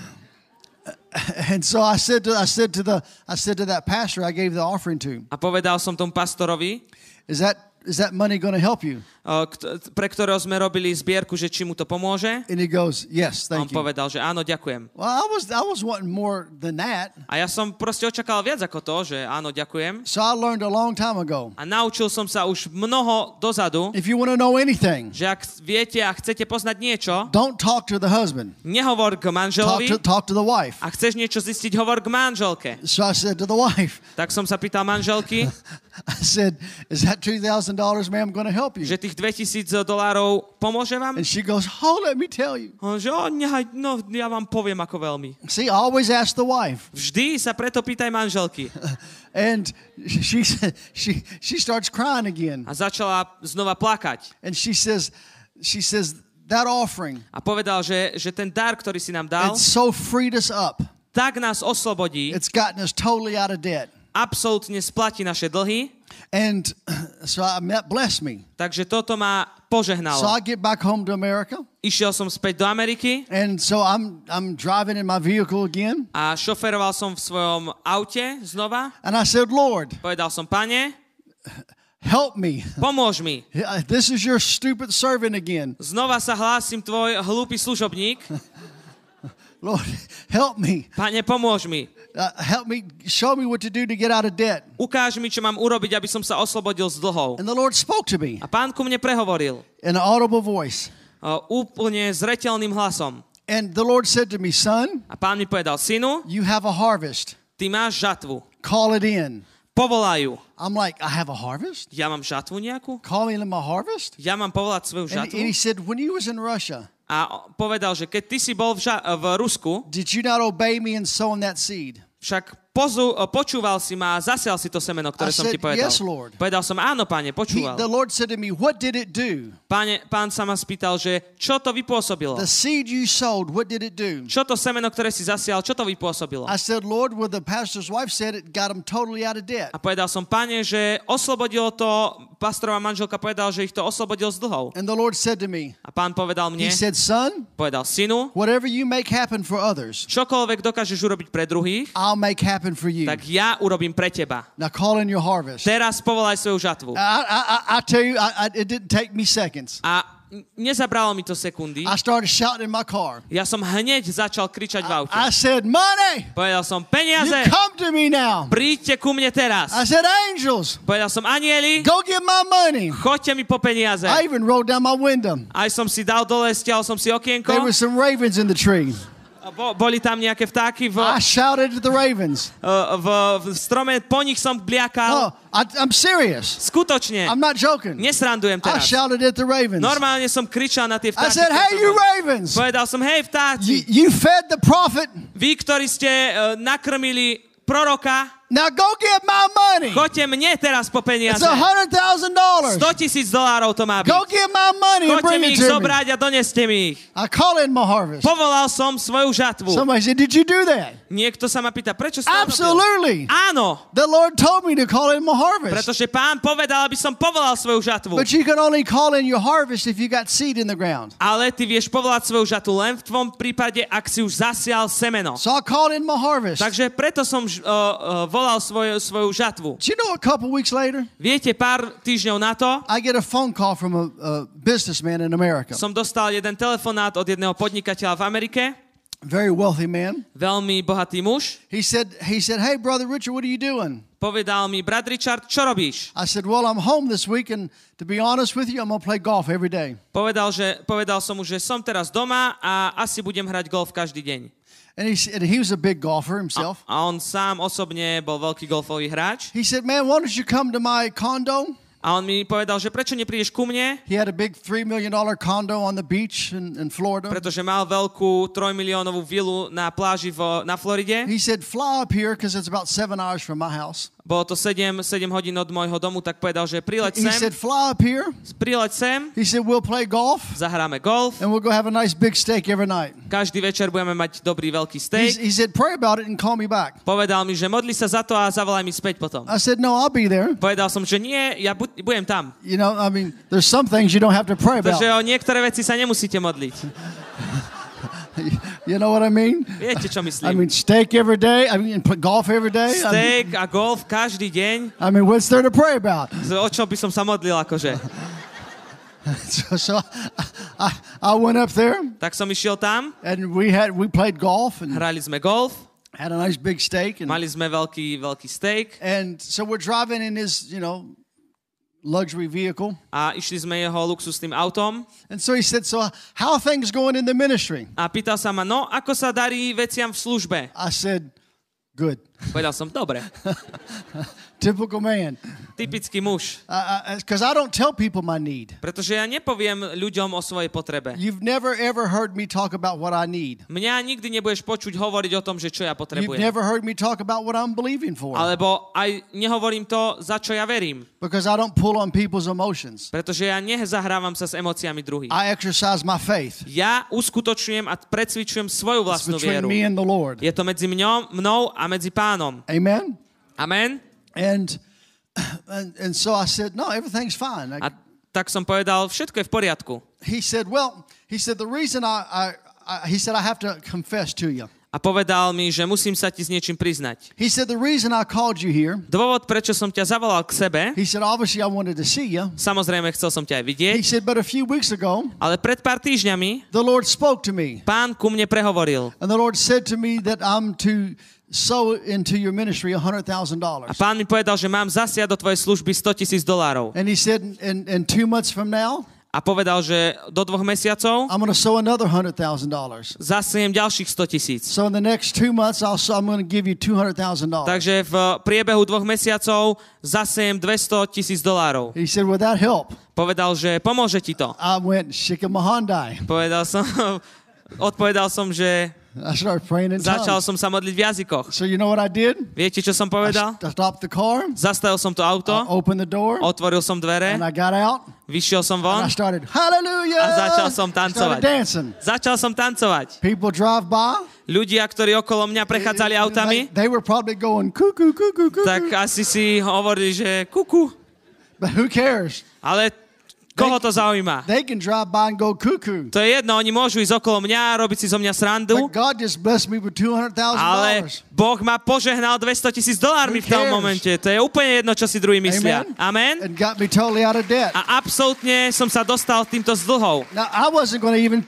And so I said to that pastor I gave the offering to, A povedal som tomu pastorovi, is that money going to help you? pre ktorého sme robili zbierku, že či mu to pomôže. And he goes, yes, A on thank you. povedal, že áno, ďakujem. Well, I was wanting more than that. A ja som proste očakával viac ako to, že áno, ďakujem. So I learned a long time ago. A naučil som sa už mnoho dozadu, If you want to know anything, že ak viete a chcete poznať niečo, don't talk to the husband. nehovor k manželovi. Talk to the wife. A chceš niečo zistiť, hovor k manželke. So I said to the wife, Tak som sa pýtal manželky, I said, is that $2,000, ma'am, going to help you? že tých $2,000 pomôže vám? And she goes, oh, let me tell you. Že no, ja vám poviem ako veľmi. See, I always ask the wife. Vždy sa preto pýtaj manželky. And she starts crying again. A začala znova plakať. And she says, that offering, A povedal, že ten dar, ktorý si nám dal, it so freed us up. tak nás oslobodí, It's gotten us totally out of debt. absolútne splatí naše dlhy. And so that blessed me. Takže toto ma So požehnalo. I get back home to America. Išiel som späť do Ameriky And so I'm driving in my vehicle again. a šoferoval som v svojom aute znova. And I said, Lord, Povedal som, pane, help me. pomôž mi. This is your stupid servant again. Znova sa hlásim, tvoj hlúpy služobník. Lord, help me. Pane, pomôž mi. Help me. Show me what to do to get out of debt. Ukáž mi, čo mám urobiť, aby som sa oslobodil z dlhov. And the Lord spoke to me A pán ku mne prehovoril in an audible voice. Úplne zreteľným hlasom. And the Lord said to me, son, A pán mi povedal, synu, you have a harvest. ty máš žatvu. Call it in. povolajú. I'm like, I have a harvest? Ja mám žatvu nejakú? Call me in my harvest? Ja mám povolať svoju And žatvu? he said, when you was in Russia, A povedal, že keď ty si bol v Rusku, did you not obey me in sowing that seed? však počúval si ma a zasial si to semeno, ktoré I som ti said, povedal. yes, Lord. Povedal som, áno, Pane, počúval. The Lord said to me, what did it do? Pán sa ma spýtal, že čo to vypôsobilo? The seed you sowed, what did it do? Čo to semeno, ktoré si zasial, čo to vypôsobilo? I said, Lord, well, the pastor's wife said it got him totally out of debt. A povedal som, Pane, že oslobodilo to, pastorová manželka povedal, že ich to oslobodil z dlhov. And the Lord said to me, A Pán povedal mne, he said, son, povedal, synu, whatever you make happen for others, čokoľvek dokážeš urobiť pre druhých, I'll make happen for you. tak ja urobím pre teba. Now call in your harvest. Teraz povolaj svoju žatvu. I tell you, it didn't take me seconds. A nezabralo mi to sekundy. I started shouting in my car. Ja som hneď začal kričať v aute. I said, money, Povedal som, you peniaze, come to me now. príďte ku mne teraz. I said, angels, Povedal som, anieli, go get my money. choďte mi po peniaze. I even rolled down my window. Aj som si dal dole, stiahol som si okienko. There were some ravens in the tree. Boli tam nejaké vtáky I shouted at the ravens. v strome, po nich som bliakal. No, I'm serious. Skutočne. I'm not joking. Nesrandujem I teraz. shouted at the ravens. Normálne som kričal na tie I vtáky. said, hey, you ravens, Povedal som, hej vtáci, you fed the prophet. vy, ktorí ste nakrmili proroka, Now go get my money. choďte mne teraz po peniaze. It's $100,000. $100,000 to má byť. Go get my money and Choďte bring mi it ich to me. zobrať a doneste mi ich. I call in my harvest. Povolal som svoju žatvu. Somebody said, did you do that? Niekto sa ma pýta, prečo si to robil? Absolutely. Áno, The Lord told me to call in my harvest. pretože Pán povedal, aby som povolal svoju žatvu. But you can only call in your harvest if you got seed in the ground. Ale ty vieš povolať svoju žatvu len v tvojom prípade, ak si už zasial semeno. So I called in my harvest. Takže preto som volal svoju žatvu. Do you know a couple weeks later, Viete, pár týždňov na to I get a phone call from a businessman in America. som dostal jeden telefonát od jedného podnikateľa v Amerike, Very wealthy man. veľmi bohatý muž. He said, hey, Brother Richard, what are you doing? Povedal mi, brat Richard, čo robíš? I said, well, I'm home this week, and to be honest with you, I'm going to play golf every day. Povedal som mu, že som teraz doma a asi budem hrať golf každý deň. And he was a big golfer himself. A on sám osobne bol veľký golfový hráč. He said, man, why don't you come to my condo? A on mi povedal, že prečo neprídeš ku mne? He had a big $3 million condo on the beach in Florida. Pretože mal veľkú 3 miliónovú vilu na pláži na Floride. He said, fly up here because it's about 7 hours from my house. Bolo to 7 hodín od môjho domu, tak povedal, že prileď He sem, said, fly up here. He He said, we'll play golf, zahráme golf, and we'll go have a nice big steak every night. každý večer budeme mať dobrý veľký steak. He said, pray about it and call me back. Povedal mi, že modli sa za to a zavolaj mi späť potom. I said, no, I'll be there. Povedal som, že nie, ja budem tam. You know, I mean, there's some things you don't have to pray about. Pretože o niektoré veci sa nemusíte modliť. You know what I mean? Viete, čo I myslím? mean, steak every day. I mean, golf every day. Steak a golf každý deň. I mean, what's there to pray about? O čo by som sa modlil, akože? So I went up there, Tak som išiel tam, and we played golf and hrali sme golf, had a nice big steak, and mali sme veľký steak so we're driving in his, luxury vehicle. a išli sme jeho luxusným autom. And so he said, so how are things going in the ministry? A pýtal sa ma, no, ako sa darí veciam v službe? I said, good. Povedal som, dobre. Typical man. Typický muž. Because I don't tell people my need. Pretože ja nepoviem ľuďom o svojej potrebe. You've never, ever heard me talk about what I need. Mňa nikdy nebudeš počuť hovoriť o tom, že čo ja You've potrebujem. never heard me talk about what I'm believing for. Alebo aj nehovorím to, za čo ja verím. Because I don't pull on people's emotions. Pretože ja nezahrávam sa s emóciami druhých. I exercise my faith. Ja uskutočňujem a precvičujem svoju It's vlastnú between vieru. me and the Lord. Je to medzi mnou a medzi Pánom. Amen? Amen? And so I said, no, everything's fine. A tak som povedal, všetko je v poriadku. He said, the reason he said, I have to confess to you. A povedal mi, že musím sa ti s niečím priznať. He said, the reason I called you here, Dôvod, prečo som ťa zavolal k sebe, he said, obviously I wanted to see you. samozrejme chcel som ťa aj vidieť, He said, but a few weeks ago, ale pred pár týždňami the Lord spoke to me. Pán ku mne prehovoril. And the Lord said to me that I'm to sow into your ministry $100,000. A Pán mi povedal, že mám zasiať do tvojej služby $100,000. And he said, in 2 months from now, a povedal, že do 2 mesiacov I'm going to sow another $100,000. zasiem ďalších 100,000. So in the next 2 months, I'm going to give you $200,000. Takže v priebehu 2 mesiacov zasiem $200,000. He said, "Will that help?" Povedal, že pomôže ti to. I went, "Shikamahandai." Odpovedal som, že I started praying in začal tongues. som sa modliť v jazykoch. So you know what I did? Viete, čo som povedal? I stopped the car, Zastavil som to auto, opened the door, otvoril som dvere, and I got out, vyšiel som and von I started, "Hallelujah!" a začal som Started tancovať. dancing. Začal som tancovať. People drive by. Ľudia, ktorí okolo mňa prechádzali autami, They were probably going, "Cuckoo, cuckoo, cuckoo." tak asi si hovorili, že kuku. But who cares? Ale koho to zaujíma? They can drive by and go cuckoo. To je jedno, oni môžu ísť okolo mňa, robiť si zo mňa srandu, But God just blessed me with ale $200,000. Boh ma požehnal $200,000 v tom cares? momente. To je úplne jedno, čo si druhý myslia. Amen? And got me totally out of debt. A absolútne som sa dostal týmto z dlhov. Now, I wasn't going to even,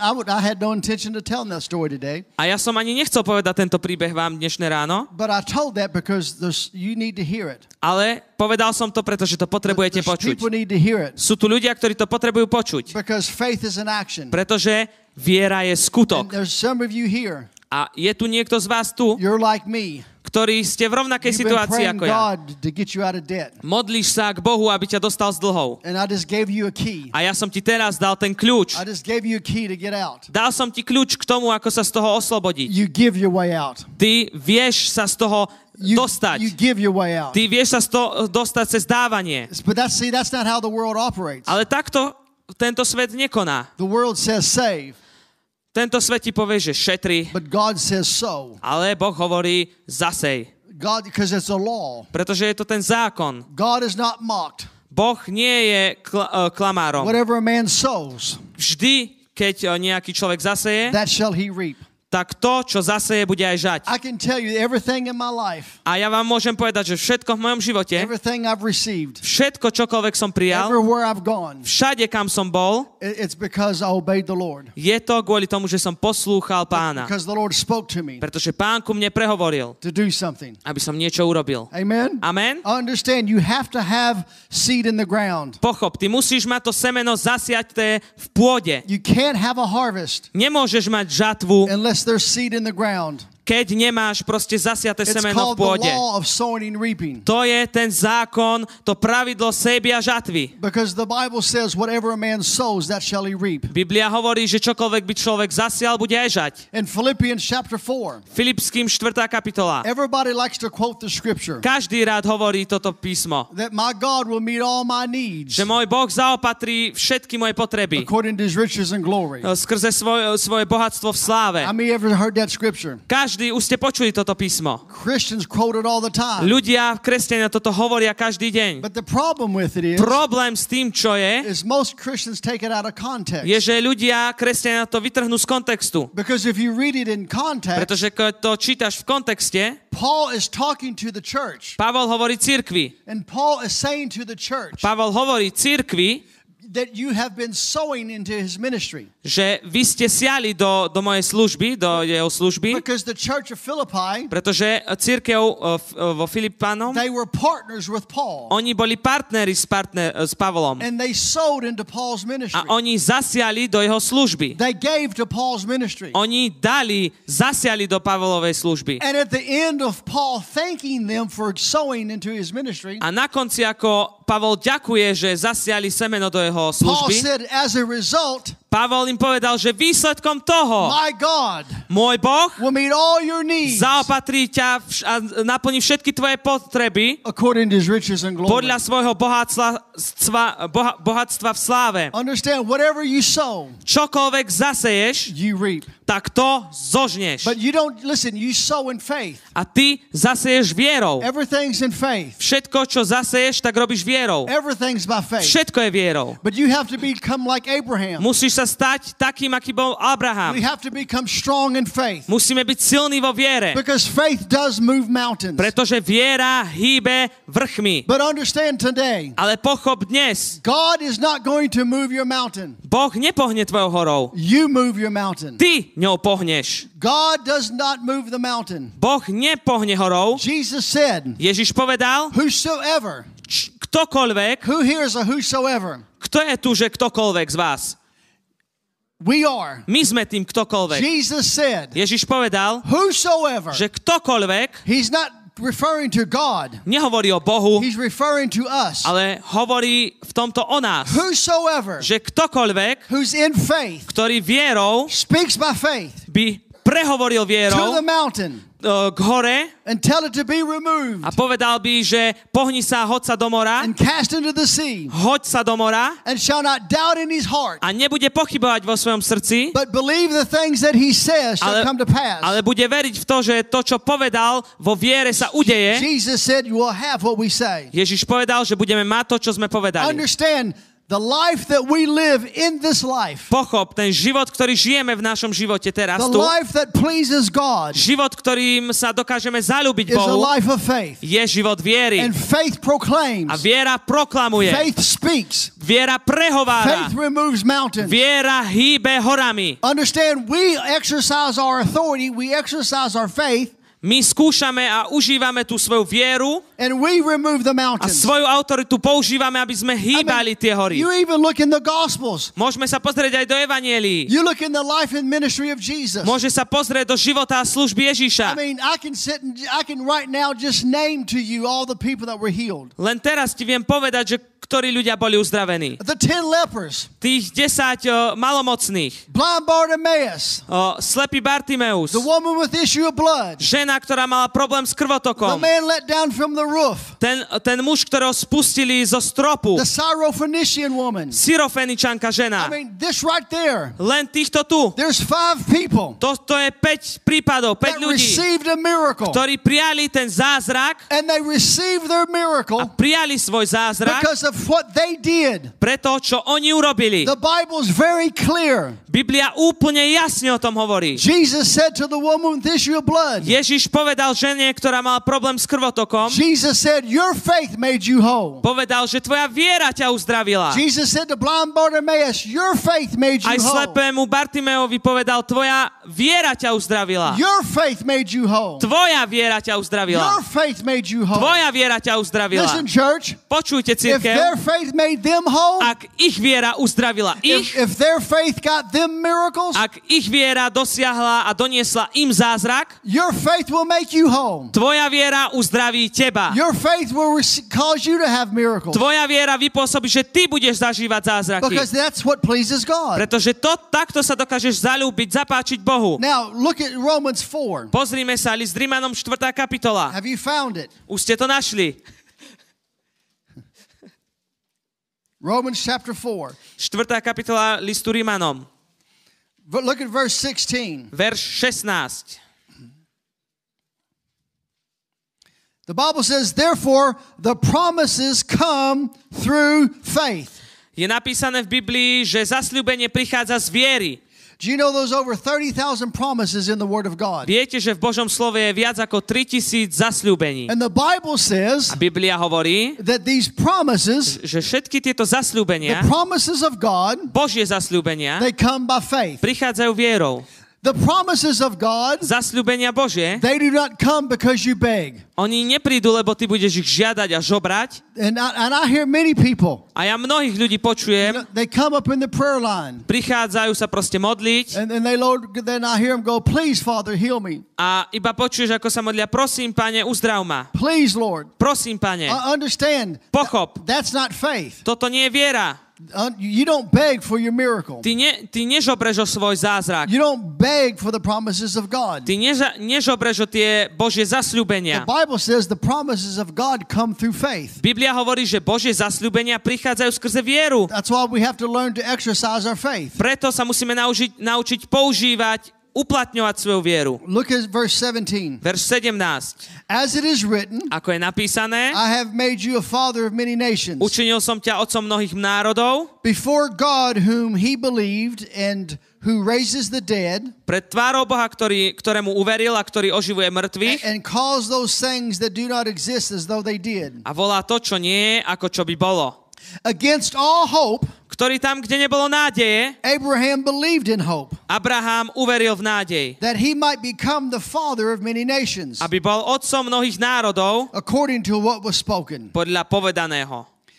I had no intention to tell that story today. A ja som ani nechcel povedať tento príbeh vám dnešné ráno, But I told that because you need to hear it. ale povedal som to, pretože to potrebujete počuť. People need to hear it. Sú tu ľudia, ktorí to potrebujú počuť, Because faith is an action. pretože viera je And skutok. there's some of you here, A je tu niekto z vás tu, you're like me. ktorí ste v rovnakej You've been situácii praying ako ja. God to get you out of debt. Modlíš sa k Bohu, aby ťa dostal z dlhov. And I just gave you a key. A ja som ti teraz dal ten kľúč. I just gave you a key to get out. Dal som ti kľúč k tomu, ako sa z toho oslobodiť. You give your way out. Ty vieš sa z toho You dostať. give your way out. Ty vieš sa z toho dostať cez dávanie. But that's not how the world operates. Ale takto tento svet nekoná. The world says save, Tento svet ti povie, že šetri, but God says sow. ale Boh hovorí zasej. God, because it's a law. Pretože je to ten zákon. God is not mocked. Boh nie je klamárom. Whatever a man sows, Vždy, keď nejaký človek zaseje, that shall he reap. tak to, čo zaseje, bude aj žať. I can tell you everything in my life, A ja vám môžem povedať, že všetko v mojom živote, everything I've received, všetko, čokoľvek som prijal, everywhere I've gone, všade, kam som bol, it's because I obeyed the Lord. je to kvôli tomu, že som poslúchal Pána. Because the Lord spoke to me Pretože Pán ku mne prehovoril, to do something. aby som niečo urobil. Amen? Amen? I understand you have to have seed in the ground. Pochop, ty musíš mať to semeno zasiaté v pôde. You can't have a harvest Nemôžeš mať žatvu, unless there's seed in the ground. keď nemáš proste zasiaté It's semeno v called the pôde. law of sowing and reaping. To je ten zákon, to pravidlo sejby a žatvy. Because the Bible says whatever a man sows, that shall he reap. Biblia hovorí, že čokoľvek by človek zasial, bude aj žať. In Philippians chapter 4, Filipským 4. kapitola. everybody likes to quote the scripture Každý rád hovorí toto písmo. that my God will meet all my needs Že môj Boh zaopatrí všetky moje potreby according to his riches and glory. skrze svoje bohatstvo v sláve. How many ever heard that scripture? Každý už ste počuli toto písmo. Christians quote it all the time. Ľudia, kresťania toto hovoria každý deň. But the problem with it Problém s tým, čo je is most Christians take it out of context. že ľudia, kresťania to vytrhnú z kontextu. Because if you read it in context, Pretože keď to čítaš v kontexte, Paul is talking to the church. Pavol hovorí cirkvi. And Paul is saying to the church Pavol hovorí cirkvi, that you have been sowing into his ministry. že vy ste siali do mojej služby, do jeho služby, Because the church of Philippi, pretože cirkev vo Filipánom, they were partners with Paul. oni boli partneri s Pavlom. And they sowed into Paul's ministry. A oni zasiali do jeho služby. They gave to Paul's ministry. Oni zasiali do Pavlovej služby. And at the end of Paul thanking them for sowing into his ministry, A na konci, ako Pavol ďakuje, že zasiali semeno do jeho Paul služby, said, as a result, Pavol im povedal, že výsledkom toho my God môj Boh will meet all your needs zaopatrí ťa a naplní všetky tvoje potreby according to his riches and glory. podľa svojho bohatstva v sláve. Understand, whatever you sow, Čokoľvek zaseješ, you reap. tak to zožneš. But you don't, listen, you sow in faith. A ty zaseješ vierou. Everything's in faith. Všetko, čo zaseješ, tak robíš vierou. Everything's by faith. Všetko je vierou. But you have to become like Abraham. Musíš sa stať takým, aký bol Abraham. We have to become strong in faith. Musíme byť silní vo viere. Because faith does move mountains. Pretože viera hýbe vrchmi. But understand today, Ale pochop dnes, God is not going to move your mountain. Boh nepohne tvojou horou. You move your mountain. Ty ňou pohneš. God does not move the mountain. Boh nepohne horou. Jesus said, Ježiš povedal, whosoever, ktokoľvek, who hears a whosoever, Kto je tu, že ktokoľvek z vás? We are. My sme tým ktokoľvek. Jesus said, Ježiš povedal, whosoever, že ktokoľvek, he's not referring to God, nehovorí o Bohu, he's referring to us. ale hovorí v tomto o nás. Whosoever Že ktokoľvek, who's in faith ktorý vierou speaks by faith by prehovoril to vierou the mountain k hore and tell it to be removed a povedal by, že pohni sa, hoď sa do mora, and cast into the sea, hoď sa do mora and shall not doubt in his heart, a nebude pochybovať vo svojom srdci, but believe the things that he says shall come to pass. ale bude veriť v to, že to, čo povedal, vo viere sa udeje. Jesus said, you will have what we say. Ježiš povedal, že budeme mať to, čo sme povedali. Understand, the life that we live in this life, Pochop, ten život, ktorý žijeme v našom živote teraz the tu, life that pleases God, život, ktorým sa dokážeme zaľúbiť is a Bohu, life of faith. je život viery. And faith proclaims, A viera proklamuje. faith speaks, Viera prehovára. faith removes mountains. Viera hýbe horami. Understand, we exercise our authority, we exercise our faith, My skúšame a užívame tú svoju vieru and we remove the a mountains. svoju autoritu používame, aby sme hýbali tie hory. You even look in the Gospels. Môžeme sa pozrieť aj do Evanielií. You look in the life and ministry of Jesus. Môže sa pozrieť do života a služby Ježíša. I mean, I can right now just name to you all the people that were healed. Len teraz ti viem povedať, že ktorí ľudia boli uzdravení. The 10 lepers, Tých 10 malomocných. blind Bartimaeus, Slepý Bartimeus. the woman with issue of blood, Žena, ktorá mala problém s the krvotokom. man let down from the roof, Ten muž, ktorého spustili zo stropu. the Syrophoenician woman. Syrofeničanka žena. I mean, this right there, Len týchto tu. there's 5 people To je 5 prípadov, 5 that ľudí, received a miracle. ktorí prijali ten zázrak And they received their a miracle prijali svoj zázrak because of what they did. pre to, čo oni urobili. The Bible's very clear. Biblia úplne jasne o tom hovorí. Jesus said to the woman with issue of blood, Ježiš povedal žene, ktorá mala problém s krvotokom, Jesus said, your faith made you whole. povedal, že tvoja viera ťa uzdravila. Jesus said to blind Bartimaeus, your faith made Aj you whole. slepému Bartimeovi povedal, tvoja viera ťa uzdravila. Your faith made you whole. Tvoja viera ťa uzdravila. Your faith made you whole. Tvoja viera ťa uzdravila. Listen, church, Počujte, if their cirkev, faith made them whole, ak ich viera uzdravila ich, if their faith got them miracles, ak ich viera dosiahla a doniesla im zázrak, your faith will make you whole. tvoja viera uzdraví teba. Your faith will cause you to have miracles. Tvoja viera vypôsobí, že ty budeš zažívať zázraky. Because that's what pleases God. Pretože takto sa dokážeš zaľúbiť, zapáčiť Bohu. Now, look at Romans 4. Pozrime sa, list Rimanom 4. kapitola. Have you found it? Už ste to našli. Romans chapter 4. 4. kapitola listu Rimanom. Look at verse 16. Verš 16. The Bible says, therefore, the promises come through faith. Je napísané v Biblii, že zasľúbenie prichádza z viery. Do you know there's over 30,000 promises in the Word of God? Viete, že v Božom slove je viac ako 3000 zasľúbení. And the Bible says A Biblia hovorí, that these promises, že všetky tieto the zasľúbenia, promises of God, Božie zasľúbenia, they come by faith. prichádzajú vierou. The promises of God, Zasľúbenia Božie, they do not come because you beg. oni neprídu, lebo ty budeš ich žiadať a žobrať. And I hear many people, A ja mnohých ľudí počujem, they come up in the prayer line, prichádzajú sa proste modliť and then I hear them go, please, Father, heal me. a iba počuješ, ako sa modlia, prosím, Pane, uzdrav ma. Please, Lord. Prosím, Pane, Understand, pochop, that's not faith. toto nie je viera. You don't beg for your miracle. Ty nežobreš o svoj zázrak. You don't beg for the promises of God. Ty nežobreš o tie Božie The zasľúbenia. Bible says the promises of God come through faith. Biblia hovorí, že Božie zasľúbenia prichádzajú skrze vieru. That's why we have to learn to exercise our faith. Preto sa musíme naučiť používať, uplatňovať svoju vieru. Look at verse 17. Verš 17. As it is written, Ako je napísané, I have made you a father of many nations. učinil som ťa otcom mnohých národov, Before God whom he believed and who raises the dead pred tvárou Boha, ktorému uveril a ktorý oživuje mŕtvych and calls those things that do not exist as though they did. a volá to, čo nie je, ako čo by bolo. Against all hope, Ktorý tam, kde nebolo nádeje, Abraham believed in hope, Abraham uveril v nádej, that he might become the father of many nations, aby bol otcom mnohých národov according to what was spoken. podľa povedaného.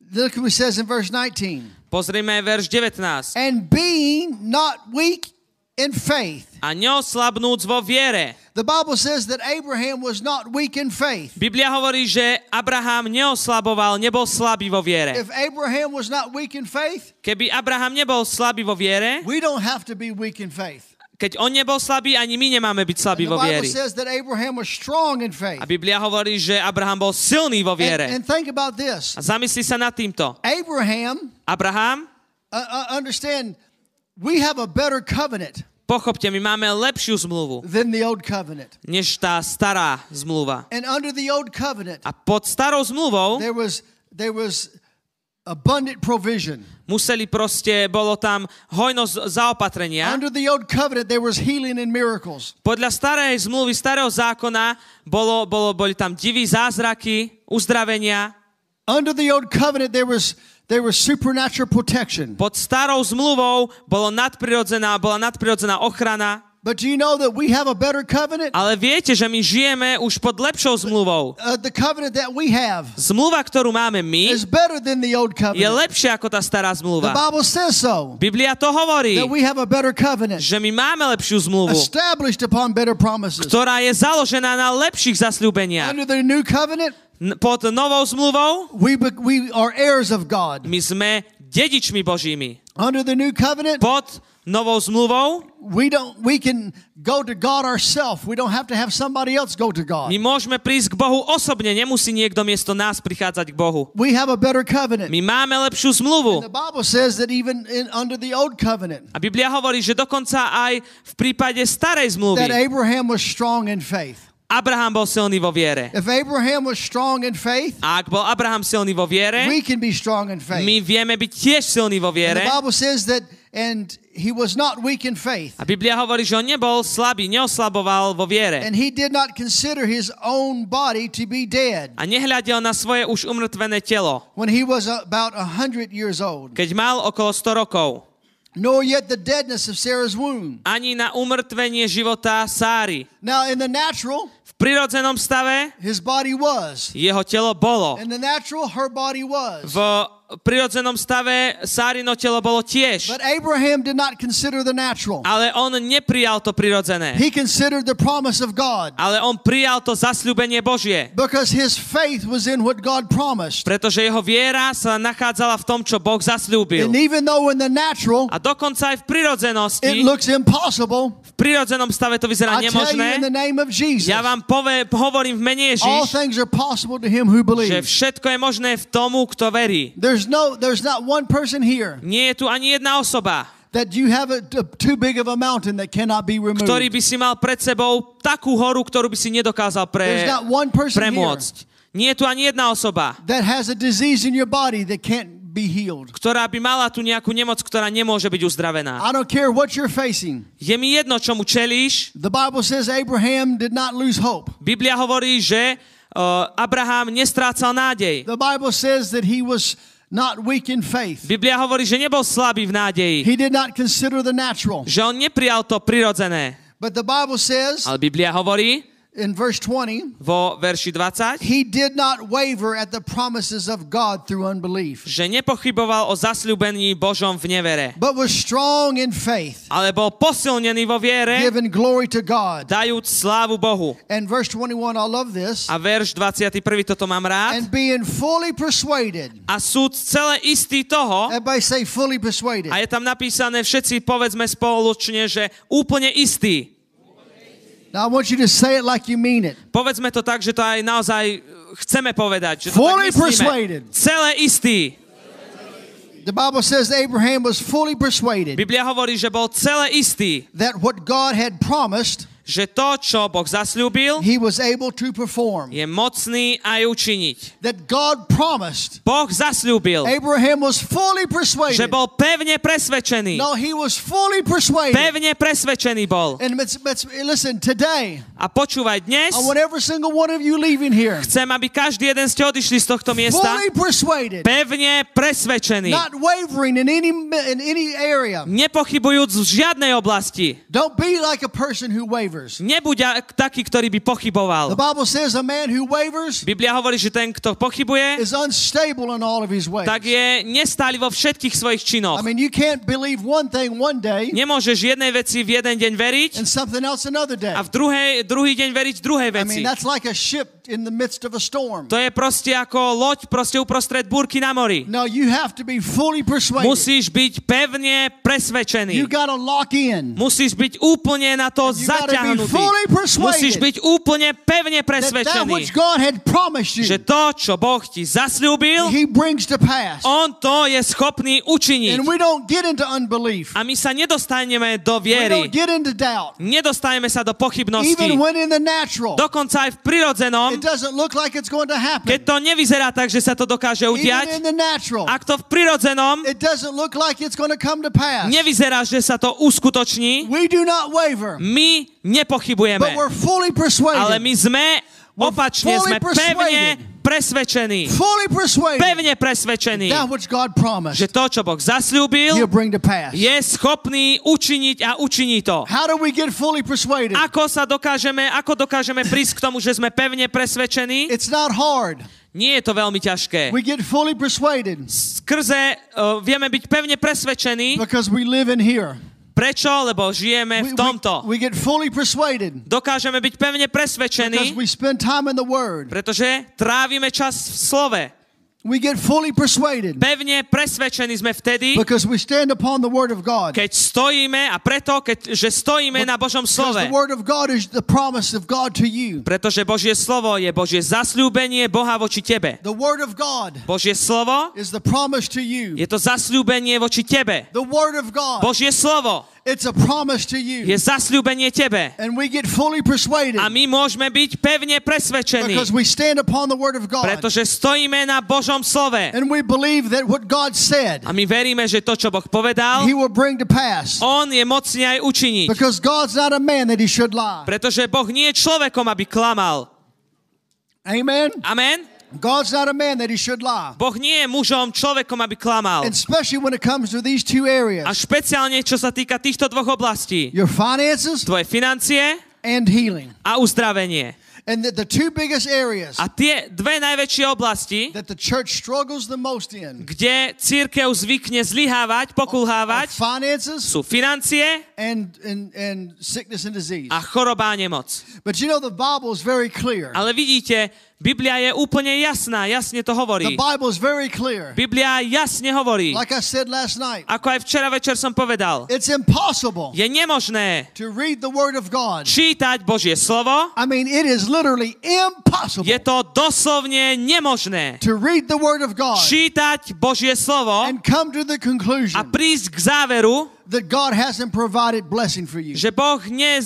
Look what it says in verse 19. Pozrime verš 19. And being not weak in faith. A neoslabnúc vo viere. The Bible says that Abraham was not weak in faith. Biblia hovorí, že Abraham neoslaboval, nebol slabý vo viere. If Abraham was not weak in faith, Keby Abraham nebol slabý vo viere, we don't have to be weak in faith. keď on nebol slabý, ani my nemáme byť slabí And the vo Bible vieri. says that Abraham was strong in faith. A Biblia hovorí, že Abraham bol silný vo viere. And think about this. A zamyslí sa nad týmto. Abraham, Understand, we have a better covenant pochopte, my máme lepšiu zmluvu, than the old covenant. než tá stará zmluva. And under the old covenant, A pod starou zmluvou there was abundant provision. museli proste, bolo tam hojnosť zaopatrenia. Under the old covenant, there was healing and miracles. Podľa starej zmluvy, starého zákona boli tam diví zázraky, uzdravenia. Under the old covenant, there was supernatural protection. Pod starou zmluvou bola nadprirodzená ochrana. But do you know that we have a better covenant? Ale viete, že my žijeme už pod lepšou zmluvou. The covenant that we have Zmluva, ktorú máme my, is better than the old je covenant. lepšia ako tá stará The zmluva. Bible says so. Biblia to hovorí, That we have a better covenant že my máme lepšiu zmluvu, established upon better promises. ktorá je založená na lepších zasľúbeniach. Under the new covenant, Pod novou zmluvou we are heirs of God. my sme dedičmi Božími. Under the new covenant, Pod novou zmluvou we can go to God ourselves. We don't have to have somebody else go to God. my môžeme prísť k Bohu osobne, nemusí niekto miesto nás prichádzať k Bohu. We have a better covenant. My máme lepšiu The zmluvu. Bible says that even under the old covenant, A Biblia hovorí, že dokonca aj v prípade starej zmluvy that Abraham was strong in faith. Abraham bol silný vo viere. If Abraham was strong in faith, A ak bol Abraham silný vo viere, we can be strong in faith. my vieme byť tiež silní vo And viere. the Bible says that, and he was not weak in faith. A Biblia hovorí, že on nebol slabý, neoslaboval vo viere. And he did not consider his own body to be dead A nehľadel na svoje už umrtvené telo, when he was about 100 years old, keď mal okolo 100 rokov. nor yet the deadness of Sarah's womb. Ani na umrtvenie života Sáry. Now, in the natural, V prirodzenom stave his body was. jeho telo bolo. In the natural, her body was. V prirodzenom stave Sárino telo bolo tiež. But Abraham did not consider the natural. Ale on neprijal to prirodzené. He considered the promise of God Ale on prijal to zasľúbenie Božie. because his faith was in what God promised. Pretože jeho viera sa nachádzala v tom, čo Boh zasľúbil. And even though in the natural A dokonca aj v it prirodzenosti, looks impossible, v prirodzenom stave to vyzerá I tell you in the nemožné. name of Jesus, Ja vám hovorím v mene all Ježiš, things are possible to him who že believes. všetko je možné v tomu, kto verí. There's not one person here Nie je tu ani jedna osoba, that you have too big of a mountain that cannot be removed. ktorý by si mal pred sebou takú horu, ktorú by si nedokázal There's not one person here premôcť. Nie je tu ani jedna osoba, that has a disease in your body that can't be healed. ktorá by mala tu nejakú nemoc, ktorá nemôže byť uzdravená. I don't care what you're facing. Je mi jedno, čomu čelíš. The Bible says Abraham did not lose hope. Biblia hovorí, že Abraham nestrácal nádej. The Bible says that he was not weak in faith. Biblia hovorí, že nebol slabý v nádeji. He did not consider the natural. Že on neprijal to prirodzené. But the Bible says Ale Biblia hovorí in verse 20, vo verši 20, he did not waver at the promises of God through unbelief, že nepochyboval o zasľúbení Božom v nevere. but was strong in faith, Ale bol posilnený vo viere, giving glory to God. dajúc slávu Bohu. And verse 21, I love this. A verš 21, toto mám rád. And being fully persuaded. A sú celé istí toho, Everybody say fully persuaded. a je tam napísané, všetci povedzme spoločne, že úplne istí. Now I want you to say it like you mean it. Povedzme to tak, že to aj naozaj chceme povedať. Že to Fully tak myslíme. persuaded. Celé istí. The Bible says Abraham was fully persuaded Biblia hovorí, že bol celé istý, that what God had promised, že to, čo Boh zasľúbil, he was able to perform. je mocný aj učiniť. That God promised. Boh zasľúbil, Abraham was fully že persuaded. bol pevne presvedčený. No, he was fully persuaded. Pevne presvedčený bol. And listen, today, A počúvaj, dnes I want every single one of you leaving here chcem, aby každý jeden ste odišli z tohto miesta fully persuaded, pevne presvedčený. not wavering in any area. Nepochybujúc v žiadnej oblasti. Don't be like a person who wavers. wavers. Nebuď taký, ktorý by pochyboval. The Bible says a man who wavers Biblia hovorí, že ten, kto pochybuje, is unstable in all of his ways. tak je nestály vo všetkých svojich činoch. I mean, you can't believe one thing one day Nemôžeš jednej veci v jeden deň veriť and something else another day. a v druhý deň veriť druhej I veci. mean, that's like a ship in the midst of a storm. To je proste ako loď proste uprostred búrky na mori. No, you have to be fully persuaded. Musíš byť pevne You presvedčený. got to lock in. Musíš byť úplne na to You gotta be zaťahnutý. fully Musíš persuaded byť úplne pevne that presvedčený, which God had promised you, že to, čo Boh ti zasľúbil, He brings to pass. on to je schopný učiniť. And we don't get into unbelief. A my sa nedostaneme do We viery. don't get into doubt. Nedostaneme sa do pochybnosti. Even when in the natural, Dokonca aj v prirodzenom, it doesn't look like it's going to happen. keď to nevyzerá tak, že sa to dokáže Even udiať, in the natural, ak to v prirodzenom it doesn't look like it's going to come to pass. nevyzerá, že sa to uskutoční, We do not waver, my nepochybujeme. but we're fully Ale persuaded. my sme opačne, sme fully pevne presvedčení. Fully persuaded Pevne presvedčení, that which God promised, že to, čo Boh zasľúbil, He'll bring to pass. je schopný učiniť a učiní to. How do we get fully persuaded? Ako dokážeme prísť k tomu, že sme pevne presvedčení? It's not hard. Nie je to veľmi ťažké. We get fully persuaded Vieme byť pevne presvedčení. because we live in here. Prečo? Lebo žijeme v tomto. We get fully persuaded Dokážeme byť pevne because presvedčení, we spend time in the Word. pretože trávime čas v slove. We get fully persuaded Pevne presvedčení sme vtedy, because we stand upon the Word of God. keď stojíme a preto, že stojíme na Božom Because slove. the Word of God is the promise of God to you. Pretože Božie slovo je Božie zasľúbenie Boha voči tebe. The Word of God Božie slovo is the promise to you. je to zasľúbenie voči tebe. The Word of God, Božie slovo it's a promise to je you. zasľúbenie tebe. And we get fully persuaded A my môžeme byť pevne presvedčení, because we stand upon the Word of God. pretože stojíme na Božom slove. And we believe that what God said, A my veríme, že to, čo Boh povedal, He will bring to pass. on je mocný aj učiniť. Because God's not a man that He should lie. Pretože Boh nie je človekom, aby klamal. Amen? Amen? God's not a man that He should lie. Boh nie je mužom, človekom, aby klamal. And especially when it comes to these two areas, A špeciálne, čo sa týka týchto dvoch oblastí. your finances Tvoje financie and healing. a uzdravenie. And the two biggest areas A tie dve najväčšie oblasti, that the church struggles the most in kde cirkev zvykne zlyhávať, are pokulhávať, finances sú financie and sickness and disease. a choroba a nemoc. But you know, the Bible is very clear. Ale vidíte, Biblia je úplne jasná, jasne to The hovorí. Bible is very clear. Biblia jasne hovorí. Like I said last night, Ako aj včera večer som povedal, it's impossible je nemožné to read the Word of God. čítať Božie slovo. I mean, it is literally impossible Je to doslovne nemožné to read the Word of God čítať Božie slovo and come to the a conclusion prísť k záveru, that God hasn't provided blessing for you. že Boh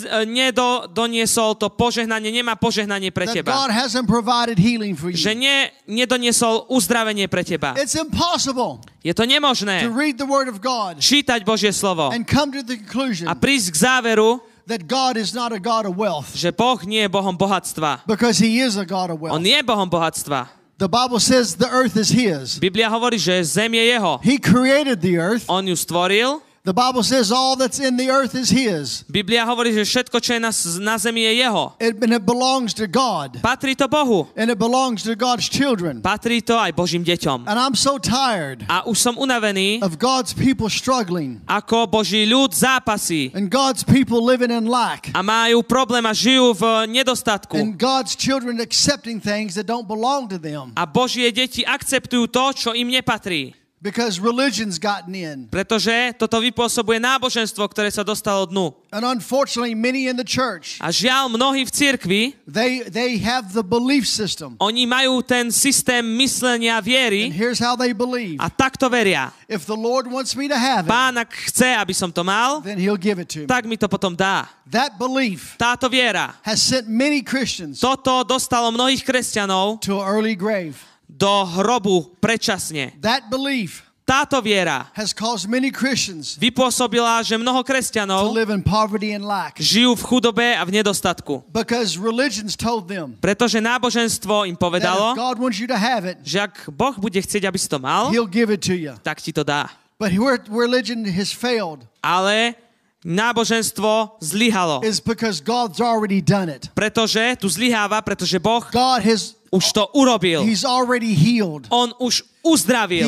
nedoniesol to požehnanie, nemá požehnanie pre That teba. God hasn't provided healing for Že you. nedoniesol uzdravenie pre teba. It's impossible Je to to nemožné read the Word of God čítať Božie slovo and come to the conclusion a prísť k záveru, that God is not a God of wealth, že Boh nie je Bohom bohatstva. because He is a God of On wealth. je Bohom bohatstva. The Bible says the earth is His. Biblia hovorí, že zem je jeho. He created the earth. On ju stvoril. The Bible says all that's in the earth is His. Biblia hovorí, že všetko, čo je na zemi, je jeho. And it belongs to God. Patrí to Bohu. And it belongs to God's children. Patrí to aj Božím deťom. And I'm so tired A už som unavený, of God's people struggling ako Boží ľud zápasí and God's people living in lack a majú problém a žijú v nedostatku. and God's children accepting things that don't belong to them A Božie deti akceptujú to, čo im nepatrí. because religion's gotten in. Pretože toto vypôsobuje náboženstvo, ktoré sa dostalo dnu. And unfortunately, many in the church, A žiaľ, mnohí v cirkvi, they have the belief system. oni majú ten systém myslenia And viery here's how they believe. a takto veria. If the Lord wants me to have it, Pán, ak chce, aby som to mal, then He'll give it to me. tak mi to potom dá. That belief Táto viera, has sent many Christians toto dostalo mnohých kresťanov to an early grave. do hrobu predčasne. That belief Táto viera has caused many Christians vypôsobila, že mnoho to kresťanov live in poverty and lack žijú v chudobe a v nedostatku. because religions told them Pretože náboženstvo im that if povedalo, God wants you to have it, že ak Boh bude chcieť, aby si to mal, He'll give it to you. tak ti to dá. But where religion has failed Ale náboženstvo zlyhalo. is because God's already done it. Pretože tu zlyháva, pretože Boh God has, už to urobil. He's already healed. On už uzdravil.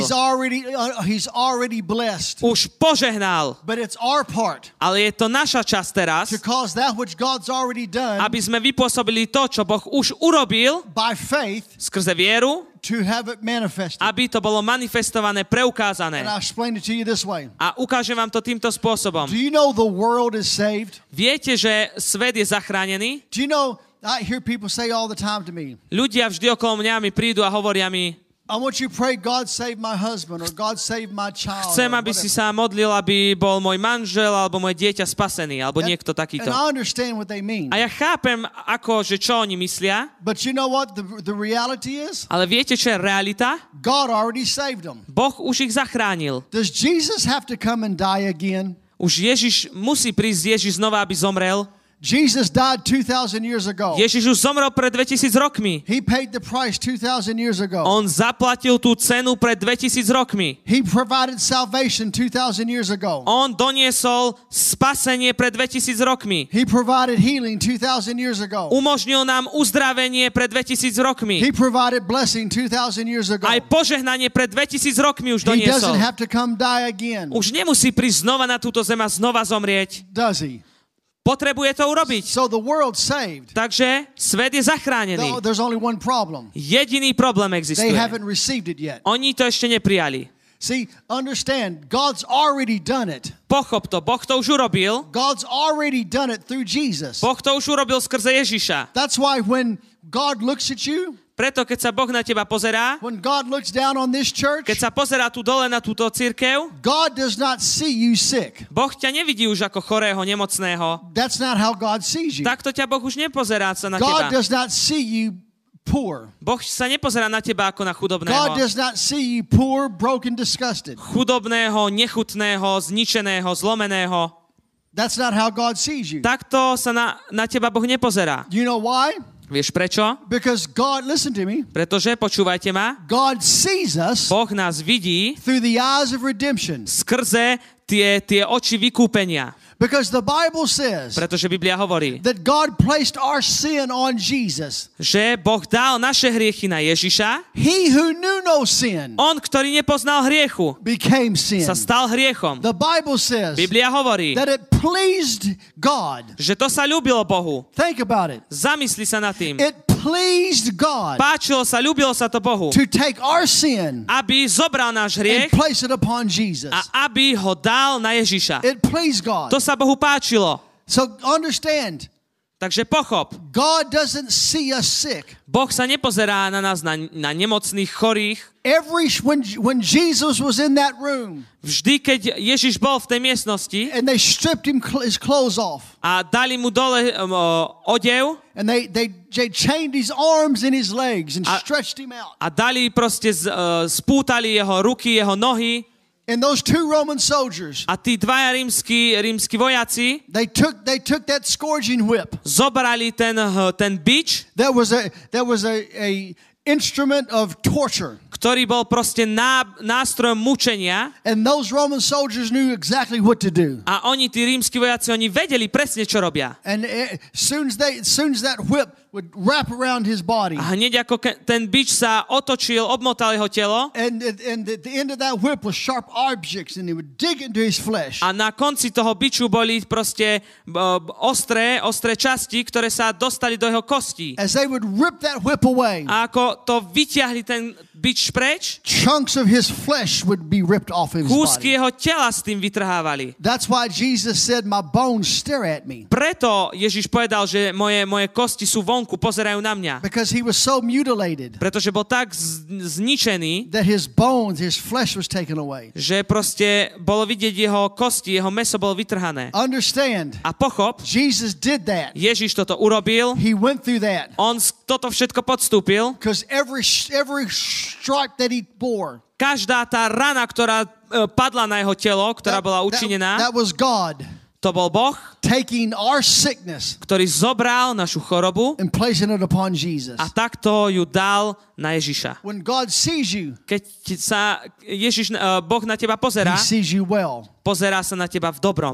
He's already blessed. Už požehnal. But it's our part Ale je to naša časť teraz, to cause that which God's already done aby sme vypôsobili to, čo Boh už urobil by faith skrze vieru, to have it manifested. aby to bolo manifestované, preukázané. And I'll explain it to you this way. A ukážem vám to týmto spôsobom. Do you know the world is saved? Viete, že svet je zachránený? Do you know, I hear people say all the time to me, Ľudia vždy okolo mňa mi prídu a hovoria mi, I want you to pray, God save my husband, or God save my child. chcem, or aby si whatever. sa modlil, aby bol môj manžel alebo moje dieťa spasený, alebo niekto takýto. And I understand what they mean. A ja chápem, ako, že čo oni myslia, But you know what the reality is? ale viete, čo je realita? God already saved them. Boh už ich zachránil. Does Jesus have to come and die again? Už musí prísť Ježiš znova, aby zomrel. Jesus died 2,000 years ago. Ježiš už zomrel pred 2000 rokmi. He paid the price 2,000 years ago. On zaplatil tú cenu pred 2000 rokmi. He provided salvation 2,000 years ago. On doniesol spasenie pred 2000 rokmi. He provided healing 2,000 years ago. Umožnil nám uzdravenie pred 2000 rokmi. He provided blessing 2,000 years ago. Aj požehnanie pred 2000 rokmi už He doniesol. doesn't have to come die again. Už nemusí prísť znova na túto zem a znova zomrieť. Does he? Potrebuje to urobiť. So the world's saved. Takže svet je zachránený. There's only one problem. Jediný problém They existuje. haven't received it yet. Oni to ešte neprijali. See, understand, God's already done it. Pochop to, Boh to už urobil. God's already done it through Jesus. Boh to už urobil skrze Ježiša. That's why when God looks at you, Preto, keď sa Boh na teba pozerá, when God looks down on this church, keď sa pozerá tu dole na túto cirkev, God does not see you sick. Boh ťa nevidí už ako chorého, nemocného. That's not how God sees you. Takto ťa Boh už nepozerá sa na God teba. does not see you poor. Boh sa nepozerá na teba ako na God chudobného. does not see you poor, broken, disgusted. Chudobného, nechutného, zničeného, zlomeného. That's not how God sees you. Takto sa na teba Boh nepozerá. You know why? Vieš prečo? Because God, listen to me, Pretože, počúvajte ma, God sees us Boh nás vidí through the eyes of redemption. skrze tie oči vykúpenia. Because the Bible says Pretože Biblia hovorí, that God placed our sin on Jesus. že Boh dal naše hriechy na Ježiša. He who knew no sin On, ktorý nepoznal hriechu, became sin. sa stal hriechom. The Bible says Biblia hovorí, that it pleased God. že to sa ľúbilo Bohu. Think about it. Zamysli sa nad tým. It pleased God Páčilo sa, ľúbilo sa to Bohu, to take our sin aby zobral náš and hriech place it upon Jesus. a aby ho dal na Ježiša. It pleased God. To sa Bohu páčilo. So understand, Takže pochop, God doesn't see us sick. Boh sa nepozerá na nás, na nemocných, chorých. When Jesus was in that room Vždy, keď Ježiš bol v tej miestnosti and they stripped him his clothes off a dali mu dole odev and they chained his arms and his legs and stretched him out. a dali proste, spútali jeho ruky, jeho nohy, And those two Roman soldiers, a tí dvaja rímski vojaci they took that scourging whip. zobrali ten bič, That was a instrument of torture. ktorý bol proste nástrojom mučenia, And those Roman soldiers knew exactly what to do. a oni, tí rímski vojaci, oni vedeli presne, čo robia. And as soon as that whip would wrap around his body, A hneď ako ten bič sa otočil, obmotal jeho telo, and at the end of that whip was sharp objects, and they would dig into his flesh. a na konci toho biču boli proste ostré časti, ktoré sa dostali do jeho kostí. As they would rip that whip away, A ako to vyťahli ten bič preč, chunks of his flesh would be ripped off his kúsky body. jeho tela s tým vytrhávali. That's why Jesus said, "My bones stare at me," Preto Ježiš povedal, že moje kosti sú vonku, pozerajú na mňa. because he was so mutilated Pretože bol tak zničený, that his bones, his flesh was taken away. že proste bolo vidieť jeho kosti, jeho mäso bolo vytrhané. Understand, A pochop, Jesus did that. Ježiš toto urobil, He went through that on toto všetko podstúpil. because every stripe that he bore, Každá tá rana, ktorá padla na jeho telo, ktorá bola učinená, that was God to bol Boh, taking our sickness ktorý zobral našu chorobu and placing it upon Jesus. a takto ju dal na Ježiša. When God sees you, Keď sa Boh na teba pozerá, he sees you well. pozerá sa na teba v dobrom.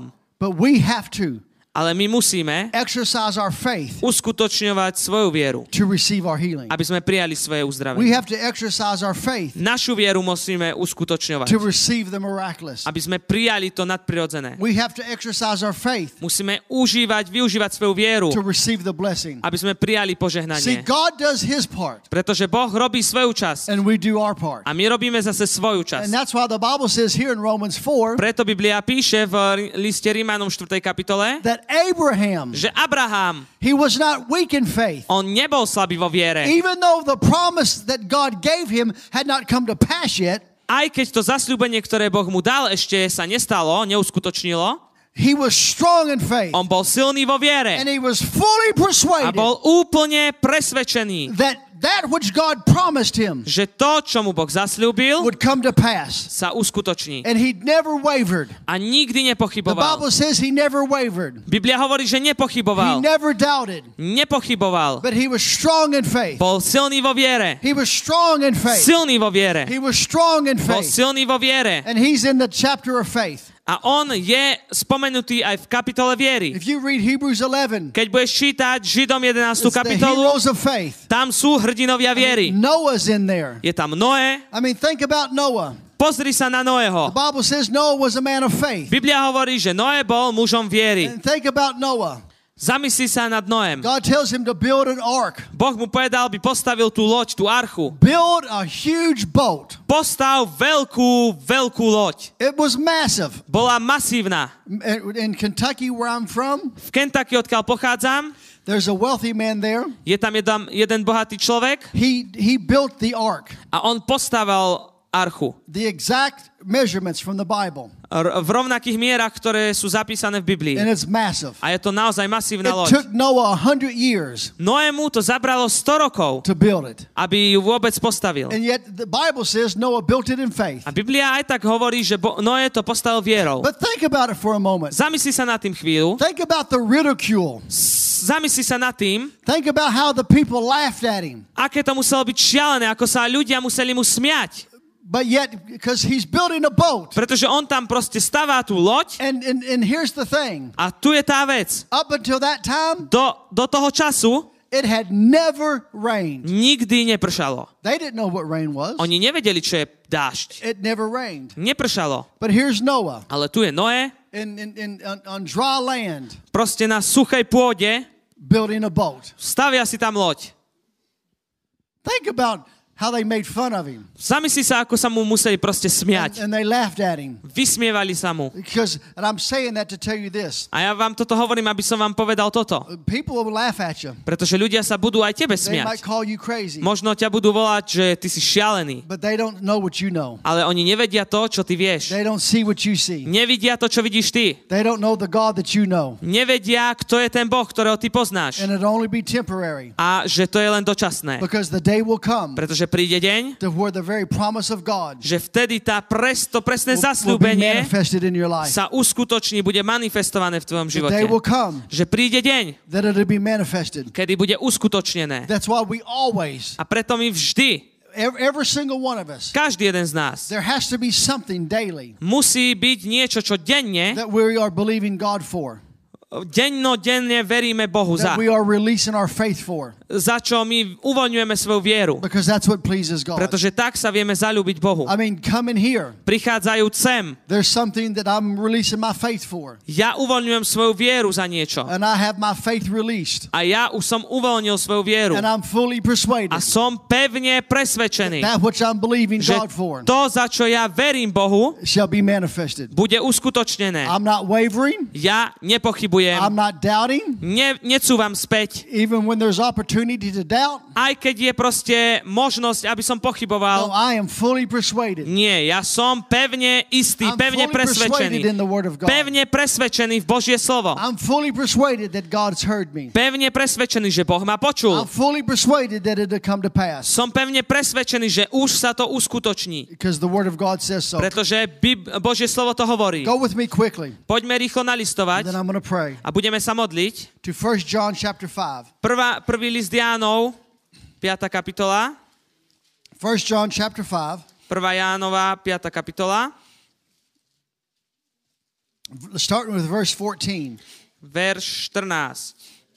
But we have to Ale my musíme exercise our faith uskutočňovať svoju vieru, to receive our healing. aby sme prijali svoje We uzdravenie. have to exercise our faith Našu vieru musíme uskutočňovať, to receive the miraculous. aby sme prijali to nadprirodzené. We have to exercise our faith Musíme využívať svoju vieru, to receive the blessing. aby sme prijali See, požehnanie. God does his part Pretože Boh robí svoju časť and we do our part. a my robíme zase svoju časť. And that's why the Bible says here in Romans 4 Preto Biblia píše v liste Rímanom 4. kapitole, that Abraham, že Abraham, he was not weak in faith. on nebol slabý vo viere. Even though the promise that God gave him had not come to pass yet, Aj keď to zasľúbenie, ktoré Boh mu dal, ešte sa nestalo, neuskutočnilo, he was strong in faith. on bol silný vo viere And he was fully a persuaded bol úplne presvedčený, that which God promised him že to, čo mu Boh zasľúbil, would come to pass. sa uskutoční. And he never wavered. A nikdy The nepochyboval. Bible says he never wavered. Biblia hovorí, že He nepochyboval. never doubted. Nepochyboval. But he was strong in faith. Bol silný vo viere. He was strong in faith. Silný vo viere. He was strong in Bol faith. silný vo viere. And he's in the chapter of faith. A on je spomenutý aj v kapitole viery. If you read Hebrews 11, Keď budeš čítať Židom 11. it's the kapitolu, heroes of faith. tam sú hrdinovia viery. Noah's in there. Je tam Noé. I mean, think about Noah. Pozri sa na The Noého. Bible says Noah was a man of faith. Biblia hovorí, že Noé bol mužom viery. And think about Noah. Zamyslí sa nad Noém. God tells him to build an ark. Boh mu povedal, by postavil tú loď, tú archu. Build a huge boat. Postav veľkú loď. It was massive. Bola masívna. In Kentucky, where I'm from, V Kentucky, odkiaľ pochádzam, there's a wealthy man there. je tam jeden bohatý človek He built the ark. a on postaval archu. The exact measurements from the Bible. V rovnakých mierach, ktoré sú zapísané v Biblii. And it's massive. A je to naozaj masívna It loď. took Noah 100 years Noému to zabralo 100 rokov, to build it. aby ju vôbec postavil. And yet the Bible says Noah built it in faith. A Biblia aj tak hovorí, že Noé to postavil vierou. But think about it for a moment. Zamysli sa nad tým chvíľu. Think about the ridicule. Zamysli sa nad tým, Think about how the people laughed at him. aké to muselo byť šialené, ako sa ľudia museli mu smiať. But yet, because he's building a boat. Pretože on tam proste stavá tú loď And here's the thing. a tu je tá vec. Up until that time, Do toho času it had never rained. nikdy nepršalo. They didn't know what rain was. Oni nevedeli, čo je dážď. It never rained. Nepršalo. But here's Noah Ale tu je Noé, on dry land proste na suchej pôde, building a boat. stavia si tam loď. Think about how they made fun of him. Zamysli sa, ako sa mu museli proste smiať. And they laughed at him. Vysmievali sa mu. And I'm saying that to tell you this. A ja vám toto hovorím, aby som vám povedal toto. People will laugh at you. Pretože ľudia sa budú aj tebe They might smiať. call you crazy. Možno ťa budú volať, že ty si šialený. But they don't know what you know. Ale oni nevedia to, čo ty vieš. They don't see what you see. Nevidia to, čo vidíš ty. They don't know the God that you know. Nevedia, kto je ten Boh, ktorého ty poznáš. And it'll only be temporary. A že to je len dočasné. Because the day will come Pretože príde deň, to where the very promise of God že vtedy to presné will be zasľúbenie manifested in your life. sa uskutoční, bude manifestované v tvojom The day živote. will come Že príde deň, that it'll be manifested. kedy bude uskutočnené. That's why we always, A preto my vždy, every single one of us, každý jeden z nás, there has to be something daily musí byť niečo, čo denne, that we are believing God for, denne veríme Bohu that za. we are releasing our faith for, Za čo my uvoľňujeme svoju vieru. because that's what pleases God. Pretože tak sa vieme zaľúbiť Bohu. I mean, coming here, Prichádzajúc sem, there's something that I'm releasing my faith for, ja uvoľňujem svoju vieru za niečo. and I have my faith released, A ja už som uvoľnil svoju vieru. and I'm fully persuaded A som pevne presvedčený, that which I'm believing že God for to, za čo ja verím Bohu, shall be manifested. bude uskutočnené. I'm not wavering. Ja nepochybujem, I'm not doubting. necúvam späť, Even when there's opportunity to doubt, aj keď je proste možnosť, aby som no, pochyboval. I am fully persuaded. Nie, ja som pevne istý, I'm pevne fully persuaded in presvedčený. the Word of God. Pevne presvedčený v Božie slovo. I'm fully persuaded that God's heard me. Pevne presvedčený, že Boh ma počul. I'm fully persuaded that it'll come to pass. Som pevne presvedčený, že už sa to uskutoční. Because the Word of God says so. Pretože Božie slovo to hovorí. Go with me quickly. Poďme rýchlo nalistovať Then I'm going to pray. a budeme sa modliť. To 1 John chapter 5. Prvý list Jánov, 5. kapitola. 1 John chapter 5. 1. Jánova, 5. kapitola. starting with verse 14. Verš 14.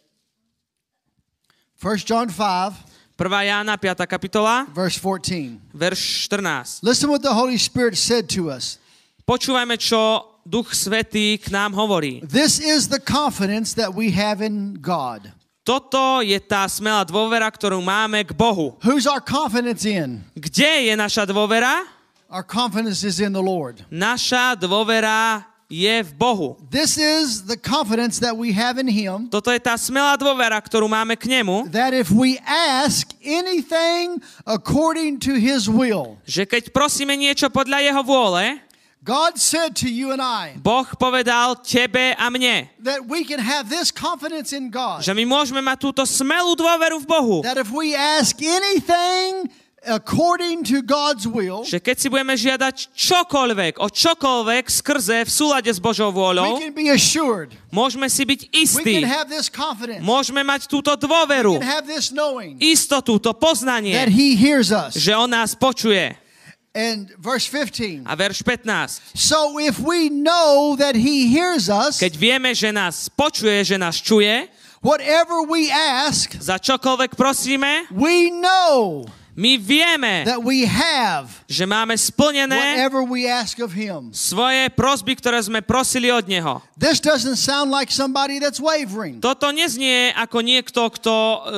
1 John 5, 1. Jána, 5. kapitola, verse 14. verš 14. Listen what the Holy Spirit said to us. Počúvajme, čo Duch Svätý k nám hovorí. This is the confidence that we have in God. Toto je tá smelá dôvera, ktorú máme k Bohu. Who's our confidence in? Kde je naša dôvera? Our confidence is in the Lord. Naša dôvera je v Bohu. This is the confidence that we have in Him. Toto je tá smelá dôvera, ktorú máme k nemu. That if we ask anything according to His will, Že keď prosíme niečo podľa jeho vôle, God said to you and I Boh povedal tebe a mne, that we can have this confidence in God. že my môžeme mať túto smelú dôveru v Bohu. That if we ask anything according to God's will, Že keď si budeme žiadať čokoľvek, o čokoľvek skrze v súlade s Božou we vôľou, can be assured. môžeme si byť We istí. can have this confidence. Môžeme mať túto We dôveru, can have this knowing istotu, to that poznanie, He hears us. že on nás počuje. And verse 15. A verš 15. So if we know that He hears us, Keď vieme, že nás počuje, že nás čuje, whatever we ask, za čokoľvek prosíme, we know my vieme, that we have že máme splnené whatever we ask of Him. svoje prosby, ktoré sme prosili od Neho. This doesn't sound like somebody that's wavering. Toto neznie ako niekto, kto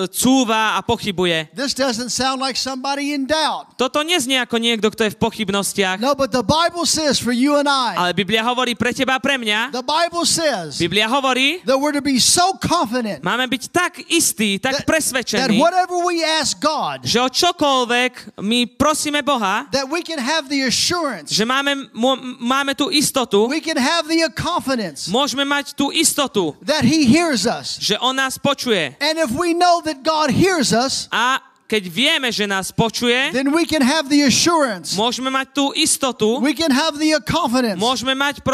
cúva a pochybuje. This doesn't sound like somebody in doubt. Toto neznie ako niekto, kto je v pochybnostiach. No, but the Bible says for you and I, Ale Biblia hovorí pre teba a pre mňa. the Bible says Biblia hovorí, that we're to be so confident máme byť tak istí, tak that presvedčení, whatever we ask God, že o čokoľvek my prosíme Boha, that we can have the assurance, že máme tú istotu, we can have the confidence môžeme mať tú istotu, that He hears us. že on nás počuje. And if we know that God hears us, A keď vieme, že nás počuje, then we can have the assurance. môžeme mať tú istotu, We can have the confidence môžeme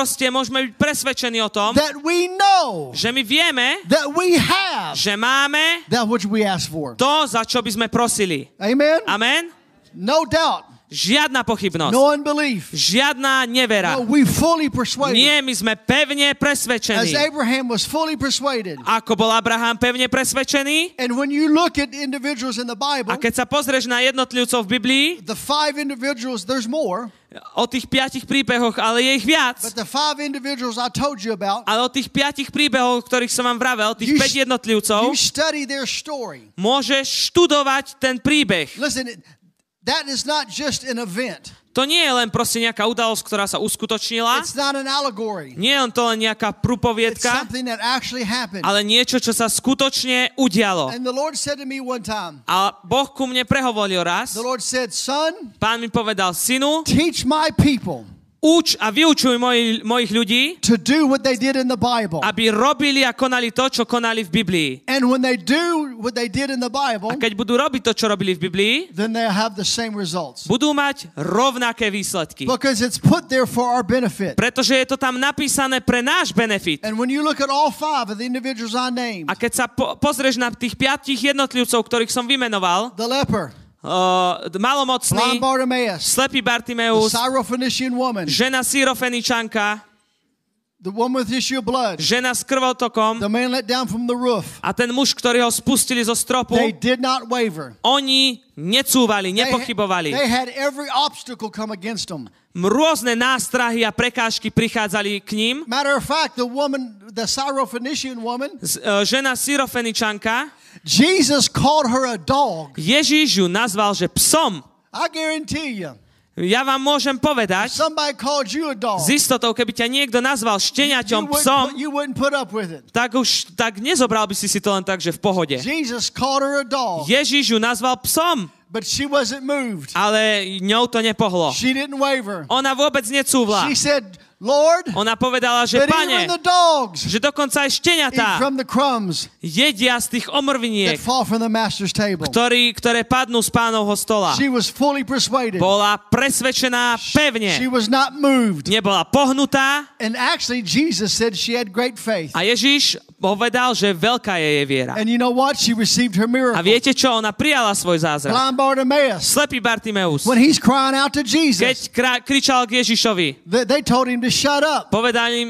byť presvedčení o tom, that we know že my vieme, that we have že máme that which we ask for. to, za čo by sme prosili. Amen? Amen? No doubt. Žiadna pochybnosť. No unbelief. Žiadna nevera. No, we fully persuaded. Nie, my sme pevne As presvedčení. Abraham was fully persuaded. Ako bol Abraham pevne presvedčený? And when you look at individuals in the Bible, A keď sa pozrieš na jednotlivcov v Biblii, the 5 individuals, there's more, o tých 5 príbehoch, ale je ich viac. but the 5 individuals I told you about, Ale o tých 5 príbehoch, ktorých som vám vravel, tých 5 jednotlivcov, you study their story. môžeš študovať ten príbeh. Listen, that is not just an event. To nie je len proste nejaká udalosť, ktorá sa uskutočnila. It's not an allegory. Nie je to len nejaká It's prúpoviedka, something that actually happened. ale niečo, čo sa skutočne udialo. And the Lord said to me one time, A Boh ku mne prehovoril raz. the Lord said, son, Pán mi povedal, synu, teach my people uč a vyučuj mojich ľudí, to do what they did in the Bible. aby robili a konali to, čo konali v Biblii. And when they do what they did in the Bible, A keď budú robiť to, čo robili v Biblii, then they'll have the same results. budú mať rovnaké výsledky. Because it's put there for our benefit. Pretože je to tam napísané pre náš benefit. And when you look at all 5 of the individuals I named, A keď sa pozrieš na tých 5 jednotlivcov, ktorých som vymenoval, the leper, blind malomocný, Bartimaeus, slepý the Bartimeus, Syrophoenician woman, žena Syrofeničanka, the woman with issue of blood, žena s krvotokom the man let down from the roof, a ten muž, ktorý ho spustili zo stropu, they did not waver. oni necúvali, They nepochybovali. had every obstacle come against them. Rôzne nástrahy a prekážky prichádzali k ním. Matter of fact, the Syrophoenician woman, Žena Syrofeničanka, Jesus called her a dog. Ježíš ju nazval, že psom. I guarantee you, Ja vám môžem povedať, somebody called you a dog, s istotou, keby ťa niekto nazval šteniaťom, psom, you wouldn't put up with it. tak nezobral by si to len tak, že v pohode. Jesus called her a dog, Ježíš ju nazval psom, but she wasn't moved. ale ňou to nepohlo. She didn't waver. Ona vôbec necúvla. She said, Lord, Ona povedala, že but Pane, even the dogs že dokonca aj eat šteniatá from the crumbs jedia z tých that omrviniek, fall from the master's table. ktoré padnú z Pánovho stola. She was fully persuaded. Bola presvedčená She pevne. was not moved. Nebola pohnutá And actually, Jesus said she had great faith. a Ježíš povedal, že veľká je jej viera. And you know what? She received her A miracle. viete čo? Ona prijala svoj zázrak. Blind Bartimaeus, Slepý Bartimeus, when he's crying out to keď Jesus, kričal k Ježišovi, they told him to shut up. povedali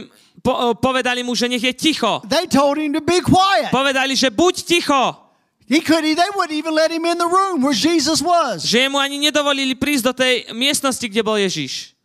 povedali mu, že nech je ticho. They told him to be quiet. Povedali, že buď ticho. They wouldn't even let him in the room where Jesus was. Že mu ani nedovolili prísť do tej miestnosti, kde bol Ježiš.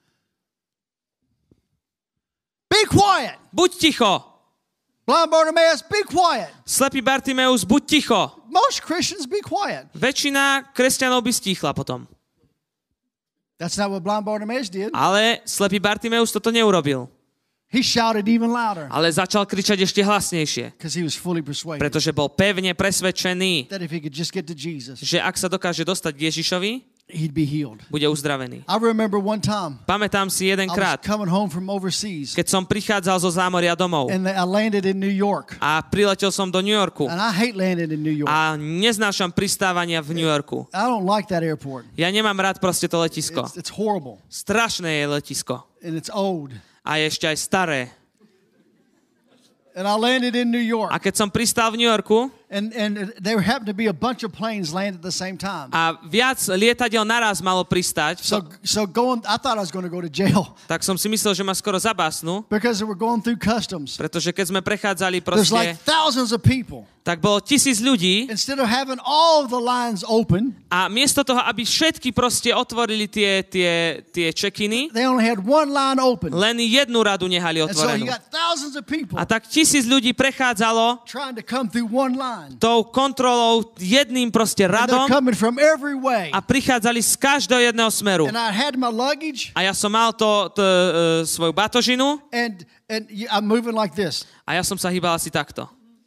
Be quiet. Buď ticho. Blind Bartimaeus, be quiet. Slepý Bartimeus, buď ticho. Most Christians be quiet. Väčšina kresťanov by stíchla potom. That's not what blind Bartimaeus did. Ale slepý Bartimeus toto neurobil. He shouted even louder Ale začal kričať ešte hlasnejšie. because he was fully persuaded Pretože bol pevne presvedčený, that if he could just get to Jesus, že ak sa dokáže dostať k Ježišovi, he'd be healed. bude uzdravený. I remember one time Pamätám si I was jedenkrát, coming home from overseas keď som prichádzal zo zámoria domov and I landed in New York. a priletel som do New Yorku And I hate landing in New York. a neznášam pristávania v New Yorku. I don't like that airport. Ja nemám rád proste to letisko. It's horrible Strašné je letisko. and it's old. A je ešte aj staré. And I landed in New York A keď som pristál v New Yorku and there happened to be a bunch of planes landed at the same time. a viac lietadiel naraz malo pristať, So going, I thought I was going to go to jail tak som si myslel, že ma skoro zabásnu, because we were going through customs. pretože keď sme prechádzali There's like proste, thousands of people. tak bolo 1000 ľudí Instead of having all of the lines open, a miesto toho, aby všetky proste otvorili tie check-iny, they only had one line open. len jednu radu nehali And so you otvorenú. got thousands of people A tak 1000 ľudí prechádzalo trying to come through one line. tou kontrolou jedným proste And they're radom coming from every way. a prichádzali z každého jedného smeru. And I had my luggage A ja som mal svoju batožinu and I'm moving like this. a ja som sa hýbal asi takto.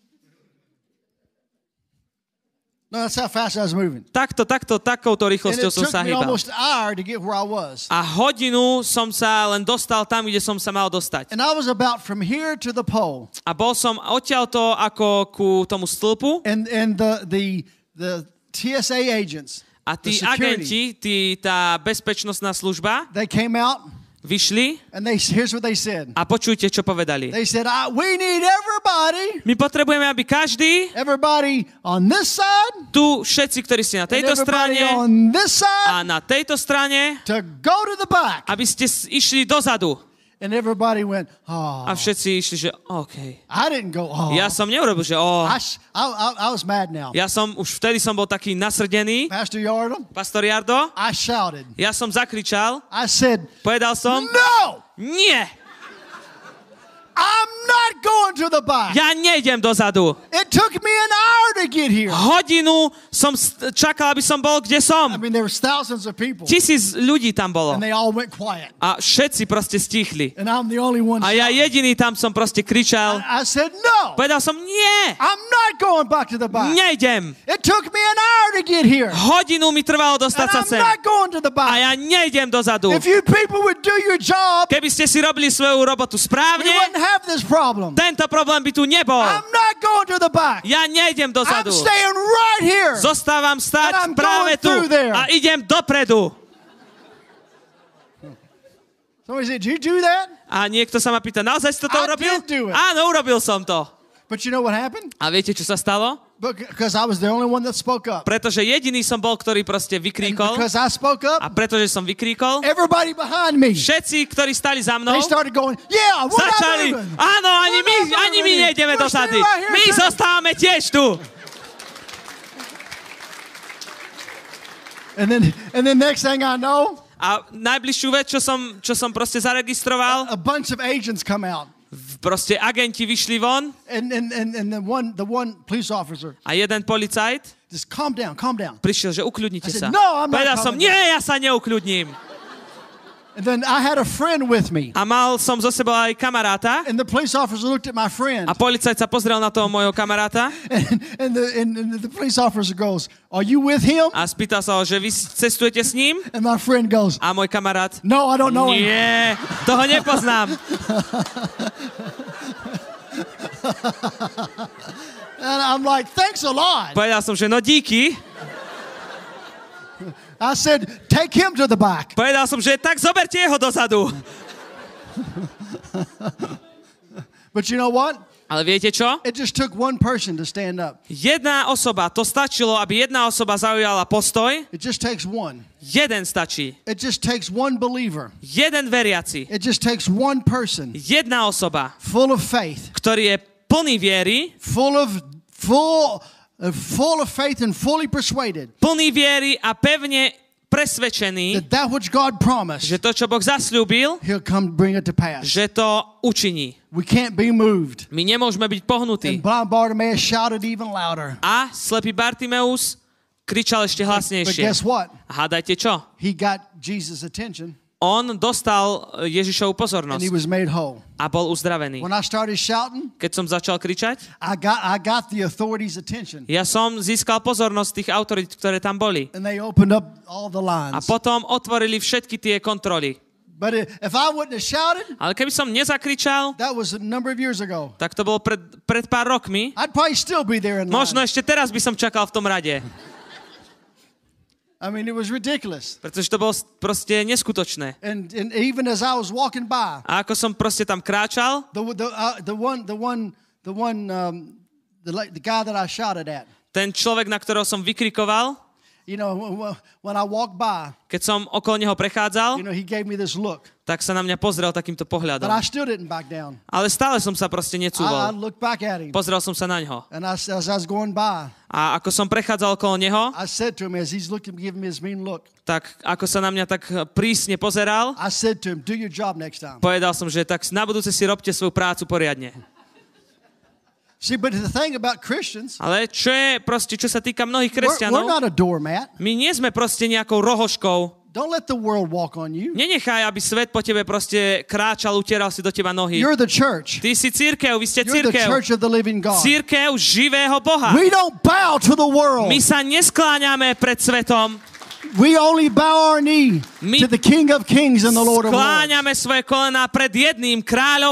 No, that's how fast I was moving. Takouto And rýchlosťou it som took sa me hýbal. almost an hour to get where I was. A hodinu som sa len dostal tam, kde som sa mal dostať. And I was about from here to the pole. A bol som odtiaľto ako ku tomu stĺpu And the TSA agents, a the tí security, agenti, tá bezpečnostná služba, they came out vyšli and here's what they said. a počujte, čo povedali. They said, we need everybody My potrebujeme, aby everybody on this side, tu všetci, ktorí ste na and tejto everybody strane on this side a na tejto strane, to go to the back. aby ste išli dozadu. And everybody went, oh. A všetci išli, že OK. I didn't go, oh. Ja som neurobil, že I was mad now. už vtedy som bol taký nasrdený. Pastor Yardo, Pastor Jardo, I shouted. ja som zakričal, I said, povedal som, no, nie, I'm not going to the back. ja nejdem dozadu. It took me an hour to get here. Hodinu som čakal, aby som bol, kde I som. mean, there was thousands of people. 1000 ľudí tam bolo. And they all went quiet. A všetci proste stichli. And I'm the only one A ja shouting. jediný tam som proste kričal. I said, no, Povedal som, nie, I'm not going back to the back. nejdem. It took me an hour to get here. Hodinu mi trvalo dostať And sa I'm sem. not going to the A back. ja nejdem dozadu. If you people would do your job, Keby ste si robili svoju robotu we správne, wouldn't have this problem. tento problém by tu nebol. I'm not going to the back. Ja nejdem I'm dozadu. staying right here. Zostávam And stať I'm práve going tu through there. a idem dopredu. Somebody said, did you do that? A niekto sa ma pýta, naozaj si toto I urobil? did do it. Áno, urobil som to. But you know what happened? A viete, čo sa stalo? Because I was the only one that spoke up. Pretože jediný som bol, ktorý proste And vykríkol. because I spoke A up, pretože som vykríkol, everybody behind me, všetci, ktorí stali za mnou, they started going, yeah, we're not začali, moving. áno, ani my nejdeme do sady. My zostávame tiež tu. And then next thing I know, A najbližšiu vec, čo som proste zaregistroval, a bunch of agents come out. proste agenti vyšli von And the one police officer a jeden policajt just calm down. prišiel, že ukľudnite I sa. said, "No, I'm not Povedal som, calming nie, ja sa neukľudním. And then I had a friend with me. A mal som zo sebou aj kamaráta And the police officer looked at my friend. a policajt sa pozrel na toho môjho kamaráta And the police officer goes, are you with him? a spýtal sa ho, že vy cestujete s ním? And my friend goes, A môj kamarát, no, I don't know him. nie, toho nepoznám. And I'm like, thanks a lot. Povedal som, že no díky. I said, take him to the back. Povedal som, že tak zoberte jeho dozadu. But you know what? Ale viete čo? It just took one person to stand up. Jedna osoba, to stačilo, aby jedna osoba zaujala postoj. It just takes one. Jeden stačí. It just takes one believer. Jeden veriaci. It just takes one person Jedna osoba, full of faith, ktorý je plný viery, full of faith and fully persuaded plný viery a pevne presvedčený, that which God promised, že to, čo Boh zasľúbil, He'll come bring it to pass. že to učiní. We can't be moved. My nemôžeme byť pohnutí. And blind Bartimaeus shouted even louder. A slepý Bartimeus kričal ešte But hlasnejšie. guess what? A hádajte čo? He got Jesus' attention On dostal Ježišovu and pozornosť he was made whole. a bol uzdravený. When I started shouting, Keď som začal kričať, I got the authorities' attention. ja som získal pozornosť tých autorít, ktoré tam boli. And they opened up all the A lines. potom otvorili všetky tie kontroly. But if I wouldn't have shouted, Ale keby som nezakričal, that was a number of years ago. tak to bolo pred pár rokmi. I'd probably still be there in Možno line. ešte teraz by som čakal v tom rade. I mean, it was ridiculous. Pretože to bolo proste neskutočné. And even as I was walking by, A ako som proste tam kráčal, the guy that I shouted at, ten človek, na ktorého som vykrikoval, you know, when I walked by, keď som okolo neho prechádzal, you know, he gave me this look. tak sa na mňa pozrel takýmto pohľadom. But I still didn't back down. Ale stále som sa proste I necúval. looked back at him. Pozrel som sa na ňo. And as I was going by, A ako som prechádzal okolo neho, I said to him as he's looking, giving me his mean look, tak ako sa na mňa tak prísne pozeral, I said to him, do your job next time. povedal som, že tak na budúce si robte svoju prácu poriadne. See, but the thing about Christians, Ale čo je proste, čo sa týka mnohých we're kresťanov, not a doormat. my nie sme proste nejakou rohoškou. Don't let the world walk on you. Nenechaj, aby svet po tebe proste kráčal, utieral si do teba nohy. You're the church. Ty si cirkev, vy ste You're the cirkev. church of the living God. Cirkev živého Boha. We don't bow to the world. My sa neskláňame pred svetom. We only bow our knee My to the King of Kings and the Lord of Lords. skláňame svoje kolená pred jedným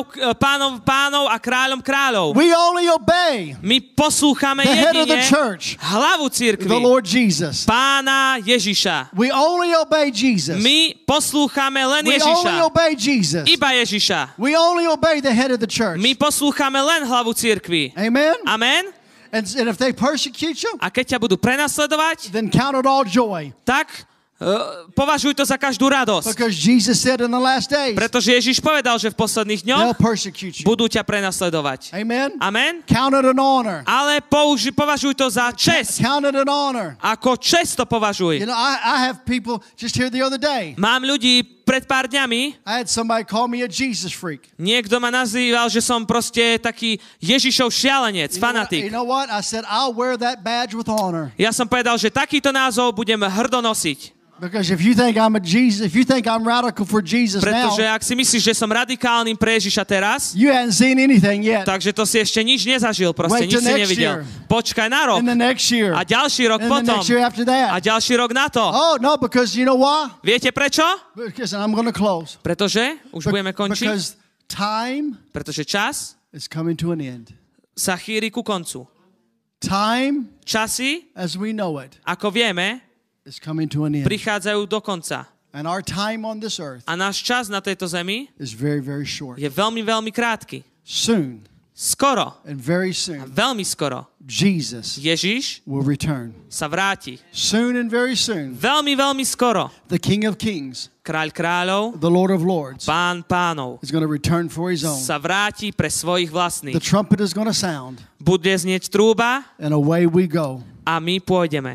pánom a kráľom kráľov. We only obey My poslúchame the head of jedine the church, hlavu cirkvi, the Lord Jesus. Pána Ježiša. We only obey Jesus. My poslúchame len We only Ježiša. obey Jesus. Iba Ježiša. We only obey the head of the church. My poslúchame len hlavu cirkvi. Amen? Amen? And if they persecute you, A keď ťa budú prenasledovať, then count it all joy. tak považuj to za každú radosť. Because Jesus said in the last days, Pretože Ježiš povedal, že v posledných they'll dňoch persecute you. budú ťa prenasledovať. Amen? Amen? Count it an honor. Ale považuj to za česť. Count it an honor. Ako česť to považuj. You know, I have people just here the other day. Mám ľudí pred pár dňami, I had somebody call me a Jesus freak. niekto ma nazýval, že som proste taký Ježišov šialenec, fanatik. You know what? I said, I'll wear that badge with honor. Ja som povedal, že takýto názov budem hrdo nosiť. Because if you think I'm a Jesus, if you think I'm radical for Jesus Pretože now, ak si myslíš, že som radikálnym pre Ježiša teraz, you hadn't seen anything yet. takže to si ešte nič nezažil, proste Wait nič till si next nevidel. year. Počkaj na rok. In the next year. A ďalší rok And the potom. next year after A that. ďalší rok na to. Oh, no, because you know why? Viete prečo? Because I'm going to close. Pretože, už budeme končiť, Because time pretože čas is coming to an end. sa chýri ku koncu. Time, Časy, as we know it, ako vieme, is coming to an end. prichádzajú do konca. And our time on this earth A náš čas na tejto zemi is very, very short. je veľmi, veľmi krátky. Soon, Skoro, and very soon, veľmi skoro, Jesus Ježiš will return. sa vráti. Soon and very soon, Veľmi, veľmi skoro. the King of Kings, Kráľ kráľov, the Lord of Lords, Pán pánov is going to return for his own. sa vráti pre svojich The vlastných. trumpet is going to sound, Bude znieť trúba and away we go. a my pôjdeme.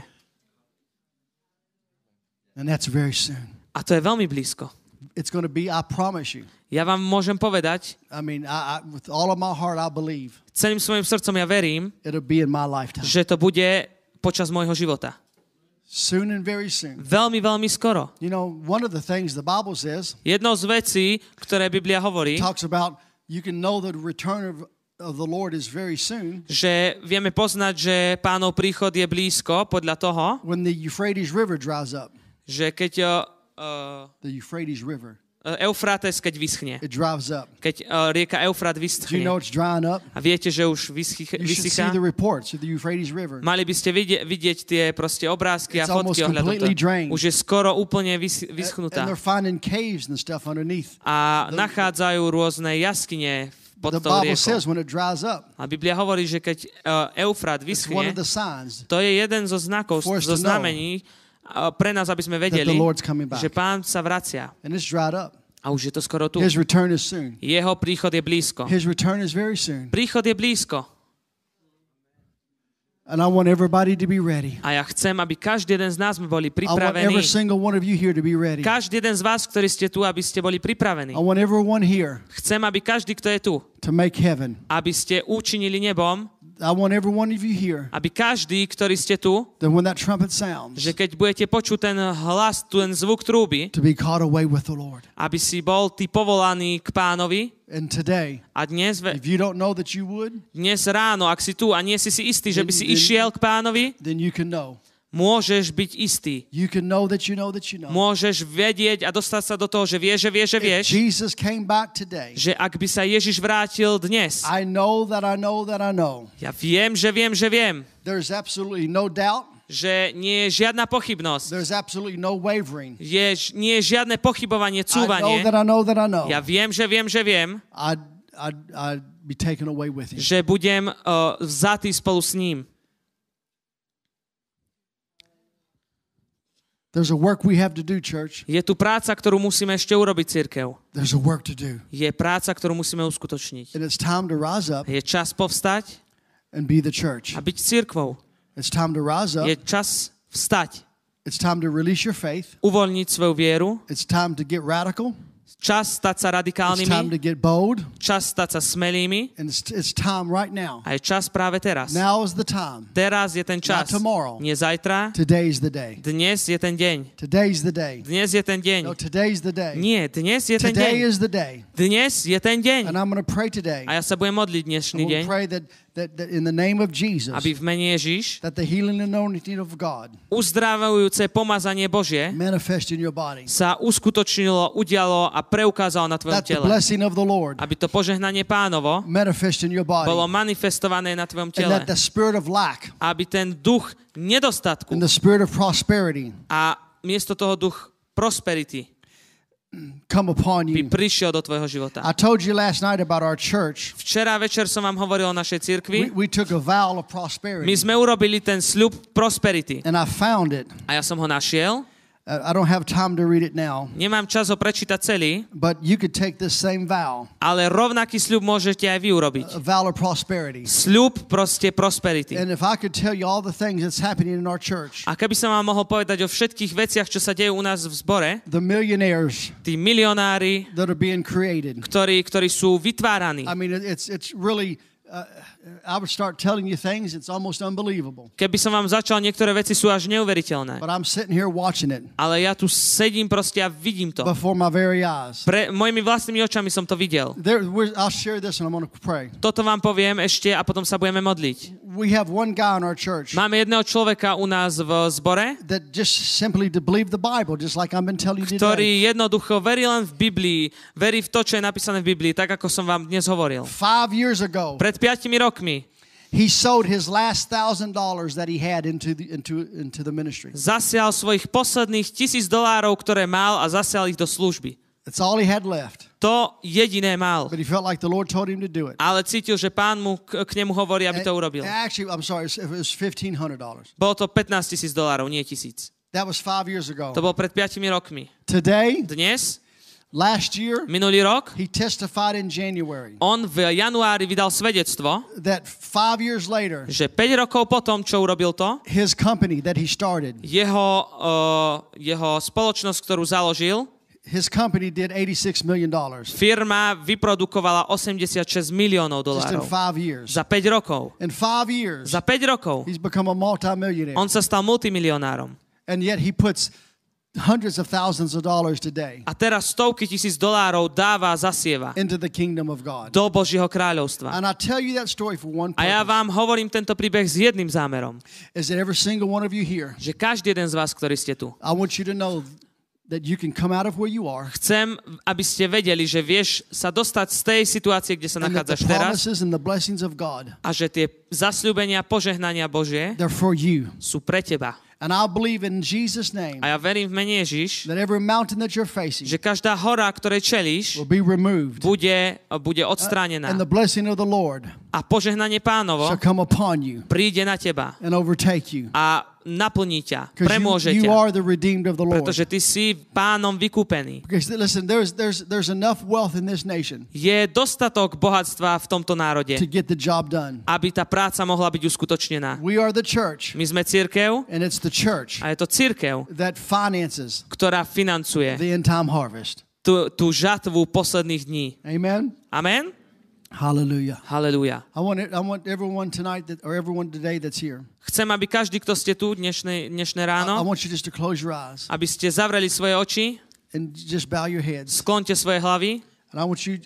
And that's very soon. A to je veľmi blízko. It's going to be, I promise you. Ja vám môžem povedať, I mean, with all of my heart, I believe celým svojim srdcom ja verím, it'll be in my lifetime. že to bude počas môjho života. Soon and very soon. Veľmi, veľmi skoro. You know, one of the things the Bible says, Jednou z vecí, ktoré Biblia hovorí, talks about you can know the return of the Lord is very soon že vieme poznať, že Pánov príchod je blízko podľa toho, when the Euphrates River dries up. že keď The Euphrates River, Eufrates, keď vyschne. it dries up. Keď rieka Eufrat Do you vyschne. know it's drying up? A viete, že už You should see vysychá? the reports of the Euphrates River. Mali by ste vidieť tie proste obrázky a It's almost fotky ohľadom completely toho. drained. Už je skoro úplne And vyschnutá. they're finding caves and stuff underneath. A nachádzajú rôzne jaskyne pod The tou Bible riekou. says when it dries up, A Biblia hovorí, že keď Eufrat it's one vyschne, of the signs to je jeden zo znakov, for us zo to know znamení pre nás, aby sme that vedeli, the Lord's coming back. že Pán sa vracia. And it's dried up. A už je to skoro tu. His return is soon. Jeho príchod je blízko. His return is very soon. Príchod je blízko. And I want everybody to be ready. A ja chcem, aby každý jeden z nás sme boli I want pripravení. every single one of you here to be ready. Každý jeden z vás, ktorí ste tu, aby ste boli pripravení. I want everyone here Chcem, aby každý, kto je tu, to make heaven. aby ste učinili nebom, I want every one of you here aby každý, ktorý ste tu, that when that trumpet sounds, že keď budete počuť ten hlas, ten zvuk trúby, to be caught away with the Lord. aby si bol ty povolaný k Pánovi. And today, A dnes if you don't know that you would, dnes ráno, ak si tu a nie si si istý, že by si išiel k Pánovi, then you can know. môžeš byť istý. You can know that you know that you know. Môžeš vedieť a dostať sa do toho, že vieš, If Jesus came back today, že ak by sa Ježiš vrátil dnes, I know that I know that I know. ja viem, There's absolutely no doubt. že nie je žiadna pochybnosť. There's absolutely no wavering. Nie je žiadne pochybovanie, I know cúvanie. that I know that I know. Ja viem, I'd be taken away with him. že budem vzatý spolu s ním. There's a work we have to do, church. Je tu práca, ktorú musíme ešte urobiť, cirkev. There's a work to do. Je práca, ktorú musíme uskutočniť. And it's time to rise up Je čas povstať and be the church. a byť cirkvou. It's time to rise up. Je čas vstať, It's time to release your faith. uvoľniť svoju vieru, It's time to get radical. čas stať sa It's time to radikálnymi, get bold. čas stať sa smelými And it's time right now. a je čas práve teraz. Now is the time. Teraz je ten čas. Not tomorrow. Nie zajtra. Today's the day. Dnes je ten deň. Today's the day. Dnes je ten deň. No, today's the day. Nie, dnes je ten Today deň. is the day. Dnes je ten deň. And I'm going to pray today. A ja sa budem modliť dnešný I'm going deň, to pray that in the name of Jesus, aby v mene Ježiš that the healing and anointing of God uzdravujúce pomazanie Božie manifest in your body. sa uskutočnilo, udialo a preukázalo na tvojom That the tele. blessing of the Lord Aby to požehnanie Pánovo manifest in your body. bolo manifestované na tvojom And tele. that the spirit of lack Aby ten duch nedostatku and the spirit of prosperity a miesto toho duch prosperity come upon by you. prišiel do tvojho života. I told you last night about our church. Včera večer som vám hovoril o našej cirkvi. We took a vow of My prosperity. sme urobili ten sľub prosperity. And I found it. A ja som ho našiel. I don't have time to read it now. Nemám čas ho prečítať celý, But you could take this same vow, ale rovnaký sľub môžete aj vy urobiť. a vow of prosperity. Sľub proste prosperity. And if I could tell you all the things that's happening in our church, A keby som vám mohol povedať o všetkých veciach, čo sa dejú u nás v zbore, the millionaires tí milionári, that are being created. ktorí sú vytváraní. I mean, it's really, I would start telling you things, it's almost unbelievable. Keby som vám začal, niektoré veci sú až neuveriteľné. But I'm sitting here watching it Ale ja tu sedím proste a vidím to. before my very eyes. Mojimi vlastnými očami som to videl. I'll share this and I'm going to pray. Toto vám poviem ešte a potom sa budeme modliť. We have one guy in our church Máme jedného človeka u nás v zbore, that just simply to believe the Bible, just like I've been telling you today. ktorý jednoducho verí len v Biblii, verí v to, čo je napísané v Biblii, tak ako som vám dnes hovoril. 5 years ago, Pred 5 rokmi he sowed his last $1,000 that he had into the ministry. zasial svojich posledných $1,000, ktoré mal a zasial ich do služby. That's all he had left. To jediné mal. But he felt like the Lord told him to do it. Ale cítil, že Pán mu k nemu hovorí, aby to urobil. Actually, I'm sorry, it was $1,500. Bolo to $15,000, nie 1,000. That was 5 years ago. To bol pred 5 rokmi. Today, Dnes, last year, minulý rok, he testified in January on v januári vydal svedectvo, that 5 years later, že 5 rokov potom, čo urobil to, his company that he started, jeho spoločnosť, ktorú založil, his company did $86 million firma vyprodukovala $86 miliónov just in dolárov 5 years. za 5 rokov. In 5 years, Za 5 rokov he's become a multimillionaire. on sa stal multimilionárom. And yet he puts hundreds of thousands of dollars today A teraz stovky tisíc dolárov dáva, zasieva into the kingdom of God. do Božieho kráľovstva. And I tell you that story for one A ja purpose, vám hovorím tento príbeh s jedným zámerom, is that every single one of you here, že každý jeden z vás, ktorí ste tu, I want you to know that you can come out of where you are chcem, aby ste vedeli, že vieš sa dostať z tej situácie, kde sa and that the nachádzaš teraz promises and the blessings of God, a že tie zasľúbenia, požehnania Božie they're for you. sú pre teba. And I believe in Jesus' name A ja verím v mene Ježiš, that every mountain that you're facing že každá hora, ktorej čelíš, will be removed. bude odstránená. And the blessing of the Lord A požehnanie Pánovo shall come upon you príde na teba and overtake you. a naplní ťa, Because premôže you ťa, are the redeemed of the Lord. pretože ty si Pánom vykúpený. Because listen, there's enough wealth in this nation Je dostatok bohatstva v tomto národe, to get the job done. aby tá práca mohla byť uskutočnená. We are the church, My sme cirkev and it's the church a je to cirkev, that finances ktorá financuje the end time harvest. tú žatvu posledných dní. Amen. Amen? Hallelujah. Halelúja. I want everyone tonight or everyone today that's here. Chcem, aby každý, kto ste tu dnešné I ráno, want you just to close your eyes aby ste zavreli svoje oči, and just bow your heads. sklonte svoje hlavy And I want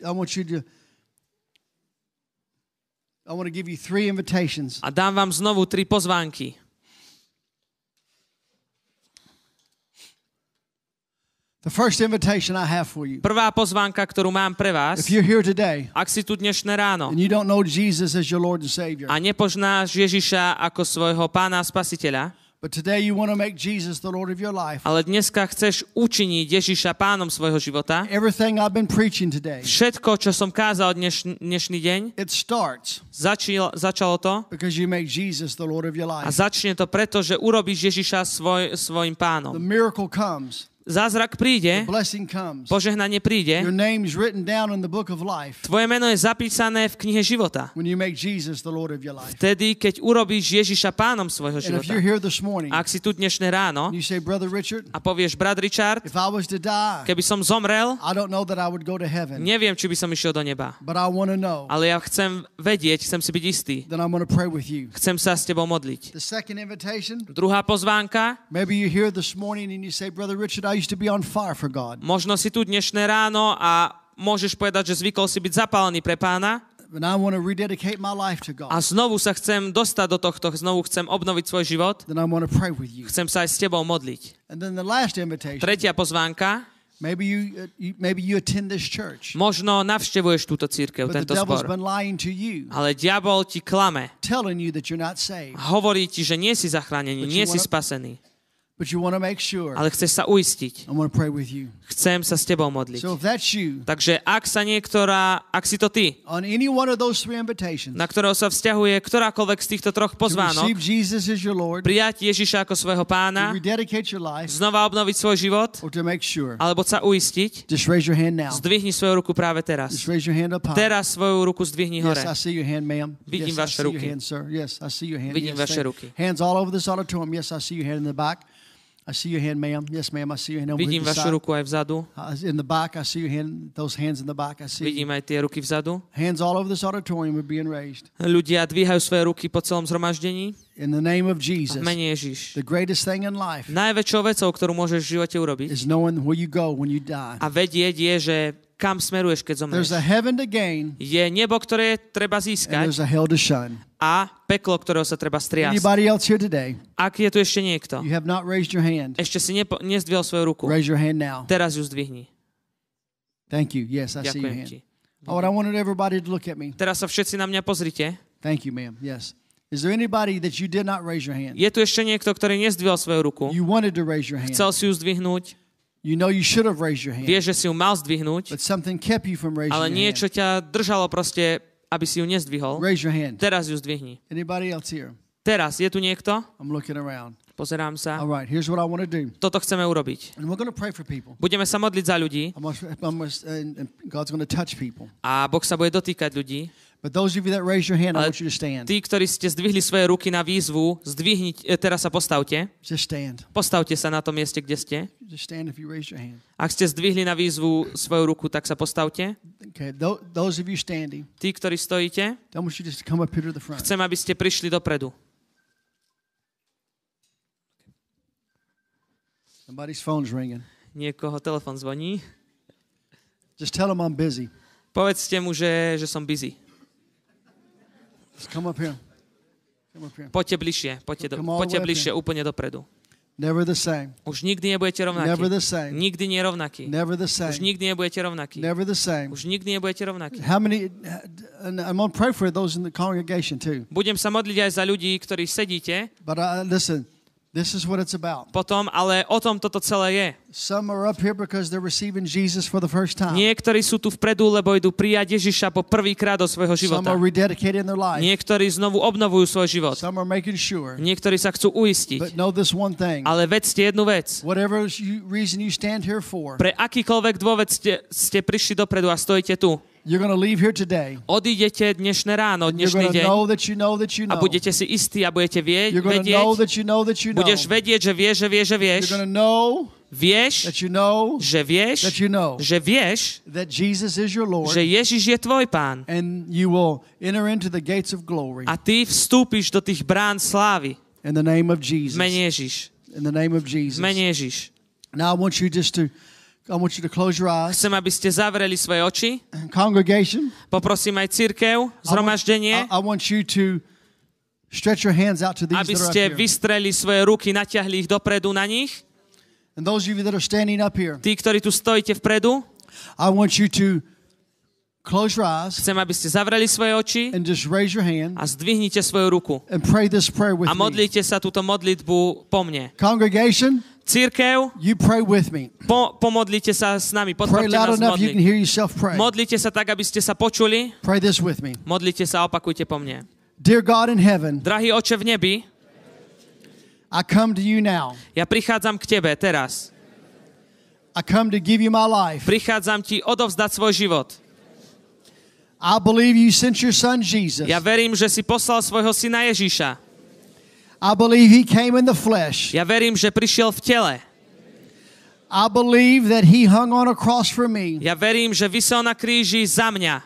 to give you 3 invitations. a dám vám znovu 3 pozvánky. The first invitation I have for you. Prvá pozvánka, ktorú mám pre vás, If you're here today ak si tu dnešné ráno and you don't know Jesus as your Lord and Savior, a nepoznáš Ježiša ako svojho Pána a Spasiteľa, but today you want to make Jesus the Lord of your life, ale dneska chceš učiniť Ježiša pánom svojho života, everything I've been preaching today, všetko, čo som kázal dnešný deň, it starts začalo to because you make Jesus the Lord of your a life. začne to preto, že urobíš Ježiša svojim The pánom. miracle comes. Zázrak príde, Blessing comes. požehnanie príde, Your name's written down in the book of life tvoje meno je zapísané v knihe života. when you make Jesus the Lord of your life. Vtedy, keď urobíš Ježiša pánom svojho And if života. you're here this morning Ak si tu dnešné ráno and you say, Brother Richard, a povieš, brat Richard, if I was to die, keby som zomrel, I don't know that I would go to heaven, neviem, či by som išiel do neba. but I want to know. Ale ja chcem vedieť, chcem si byť istý. Then I'm going to pray with you. Chcem sa s tebou modliť. The second invitation, Druhá pozvánka, maybe you're here this morning and you say, Brother Richard, I used to be on fire for God, možno si tu dnešné ráno a môžeš povedať, že zvykol si byť zapálený pre Pána but I want to rededicate my life to a God. znovu sa chcem dostať do tohto, znovu chcem obnoviť svoj život, Then I want to pray with you. chcem sa aj s tebou modliť. And then the last invitation, Tretia pozvánka, maybe you attend this church, možno navštevuješ túto cirkev, but the tento devil's zbor, been lying to you, ale diabol ti klame, telling you that you're not saved, hovorí ti, že nie si zachránený, But nie you si wanna- spasený, but you want to make sure. ale chceš sa uistiť. I want to pray with you. Chcem sa s tebou modliť. So if that's you, Takže ak si to ty, on any one of those 3 invitations, na ktorého sa vzťahuje ktorákoľvek z týchto troch to pozvánok, receive Jesus as your Lord, prijať Ježiša ako svojho to pána, rededicate your life, znova obnoviť svoj život, or to make sure, alebo sa uistiť, just raise your hand now. zdvihni svoju ruku práve teraz. Just raise your hand up high. Teraz svoju ruku zdvihni hore. Yes, I see your hand, ma'am. Vidím Yes, I vaše see your ruky. hand, sir. Yes, I see your hand. Vidím Yes, vaše thank- ruky. Hands all over this auditorium. Yes, I see your hand in the back. I see your hand, ma'am. Yes, ma'am. I see your hand over Vidím the vašu side. ruku aj vzadu. In the back, I see your hand. Those hands in the back, I see. Vidím aj tie ruky vzadu. Hands all over this auditorium are being raised. Ľudia dvíhajú svoje ruky po celom zhromaždení. In the name of V Jesus, mene Ježiš. the greatest thing in life Najväčšou vecou, ktorú môžeš v živote urobiť is knowing where you go when you die. a vedieť je, že kam smeruješ, keď There's zomrieš. a heaven to gain Je nebo, ktoré treba and získať there's a hell to shun. a peklo, ktorého sa treba striasť. Anybody else here today? Ak je tu ešte niekto, You have not raised your hand. ešte si nezdvihol svoju ruku, Raise your hand now. teraz ju zdvihni. Thank you. Yes, I see your Ďakujem hand. ti. Oh, and I wanted everybody to look at me. Teraz sa všetci na mňa pozrite. Thank you, ma'am. Yes. Is there anybody that you did not raise your hand? Je tu ešte niekto, ktorý nezdvihol svoju ruku, You wanted to raise your hand. chcel si ju zdvihnúť, You know you should have raised your hand, vie, že si ju mal zdvihnúť, but something kept you from raising ale your niečo hand. ťa držalo proste, aby si ju nezdvihol. Raise your hand. Teraz ju zdvihni. Anybody else here? Teraz, je tu niekto? I'm looking around. Pozerám sa. All right, here's what I want to do. Toto chceme urobiť. And we're going to pray for people. Budeme sa modliť za ľudí And God's going to touch people. a Boh sa bude dotýkať ľudí. But those of you that raise your hand, I Ale want you to stand. tí, ktorí ste zdvihli svoje ruky na výzvu, teraz sa postavte. Just stand. Postavte sa na tom mieste, kde ste. Just stand if you raise your hand. Ak ste zdvihli na výzvu svoju ruku, tak sa postavte. Okay, those of you standing, Tí, ktorí stojíte, I want you just to come up here to the front. chcem, aby ste prišli dopredu. Somebody's phone's ringing. Niekoho telefon zvoní. Just tell them I'm busy. Povedzte mu, že som busy. Just come up here. Come up here. Poďte bližšie, poďte bližšie, úplne dopredu. Never the same. Už nikdy nebudete rovnakí. Never the same. Nikdy nie rovnakí. Never the Už same. nikdy nebudete rovnakí. Never the same. Už nikdy nebudete rovnakí. How many? And I'm going to pray for those in the congregation too. Budem sa modliť aj za ľudí, ktorí sedíte, But listen, This is what it's about. Potom, ale o tom toto celé je. Some are up here because they're receiving Jesus for the first time. Niektorí sú tu vpredu, lebo idú prijať Ježiša po prvýkrát do svojho Some života. are rededicating their life. Niektorí znovu obnovujú svoj život. Some are making sure. Niektorí sa chcú But uistiť. know this one thing. Ale vedzte jednu vec. Whatever reason you stand here for, Pre akýkoľvek dôvod ste prišli dopredu a stojíte tu. you're going to leave here today. Odídete dnešné ráno, You're dnešný going to deň know that you know that you a know. budete si istí a budete You're going to know vedieť, that you know that you know. budeš vedieť, že vieš, že vieš, že vieš, You're going to know vieš, that you know že vieš, that you know že vieš, that Jesus is your Lord, že Ježiš je tvoj pán and you will enter into the gates of glory a ty vstúpiš do tých brán slávy. in the name of Jesus. Mene Ježiš. In the name of Jesus. Mene Ježiš. Now I want you to close your eyes. Chcem, aby ste zavreli svoje oči. Congregation, Poprosím aj cirkev, zhromaždenie, I want you to stretch your hands out to these aby that are up ste here. vystreli svoje ruky, natiahli ich dopredu na nich. And those of you that are standing up here, Tí, ktorí tu stojíte vpredu, I want you to close your eyes chcem, aby ste zavreli svoje oči and just raise your hand a zdvihnite svoju ruku. and pray this prayer with A me. modlite sa túto modlitbu po mne. Congregation, Cirkev, you pray with me. pomodlite sa s nami, Pray podporte loud nás enough you can modliť. hear yourself pray. Modlite sa tak, aby ste sa počuli. Pray this with me. Modlite sa, opakujte po mne. Dear God in heaven, Drahý Oče v nebi, I come to you now. ja prichádzam k Tebe teraz. I come to give you my life. Prichádzam Ti odovzdať svoj život. I believe you sent your son Jesus. Ja verím, že si poslal svojho syna Ježíša. I believe he came in the flesh. Ja verím, že prišiel v tele. I believe that he hung on a cross for me. Ja verím, že visel na kríži za mňa.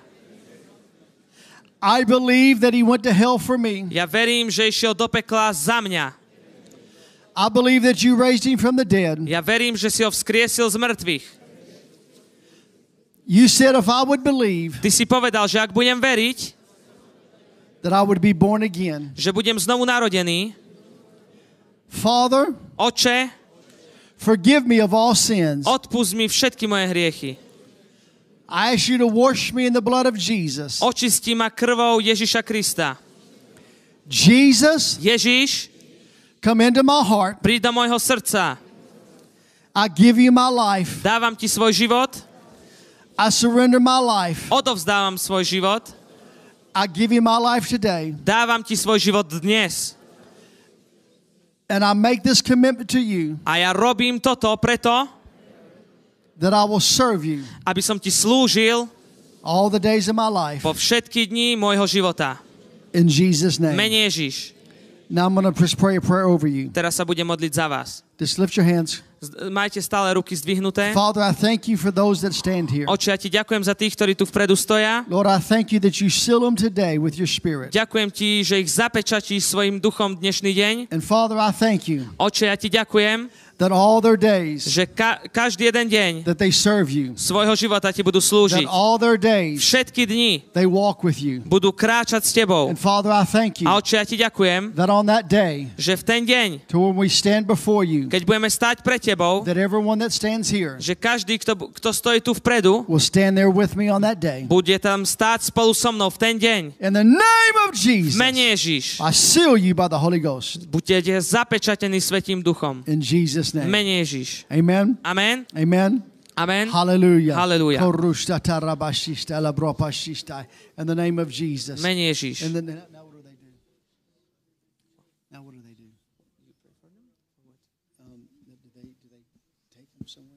I believe that he went to hell for me. Ja verím, že išiel do pekla za mňa. I believe that you raised him from the dead. Ja verím, že si ho vzkriesil z mŕtvych. You said if I would believe Ty si povedal, že ak budem veriť, that I would be born again. že budem znovu narodený, Father, Oče, forgive me of all sins. odpusť mi všetky moje hriechy. I ask you to wash me in the blood of Jesus. Očistí ma krvou Ježiša Krista. Jesus, Ježiš, come into my heart. príď do môjho srdca. I give you my life. Dávam ti svoj život, I surrender my life. odovzdávam svoj život, I give you my life today. dávam ti svoj život dnes. And I make this commitment to you A ja robím toto preto, that I will serve you aby som ti slúžil all the days of my life. po všetky dni môjho života. In Jesus' name. Mene Ježiš. Now I'm going to pray a prayer over you. Teraz sa budem modliť za vás. Just lift your hands. Majte stále ruky zdvihnuté. Father, I thank you for those that stand here. Oče, ja ti ďakujem za tých, ktorí tu vpredu stoja. Lord, I thank you that you seal them today with your spirit. Ďakujem ti, že ich zapečatíš svojim duchom dnešný deň. And Father, I thank you Oče, ja ti ďakujem, that all their days že každý jeden deň that they serve you, svojho života ti budú that slúžiť. all their days Všetky dni they walk with you. budú kráčať s tebou. And Father, I thank you A Oče, ja ti ďakujem, that on that day, že v ten deň, to when we stand before you, keď budeme stáť pre tebou, that everyone that stands here že každý, kto stojí tu vpredu, will stand there with me on that day. bude tam stáť spolu so mnou v ten deň. In the name of Jesus, Mene Ježiš. I seal you by the Holy Ghost. Buďte zapečatení Svätým Duchom. In Jesus' name. Mene Ježiš. Amen. Amen. Amen. Amen. Hallelujah. Hallelujah. In the name of Jesus. Mene Ježiš. And then, now what do they do? Now what do they do? Do they take them somewhere?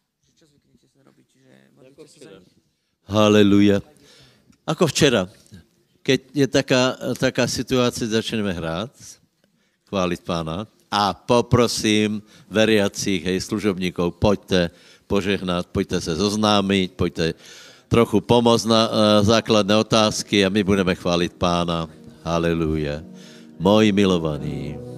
Haleluja. Ako včera. Keď je taká situácia, začneme hrať, chváliť Pána a poprosím veriacich, hej, služobníkov, poďte požehnať, poďte sa zoznámiť, poďte trochu pomôcť na základné otázky a my budeme chváliť Pána. Haleluja. Moji milovaní.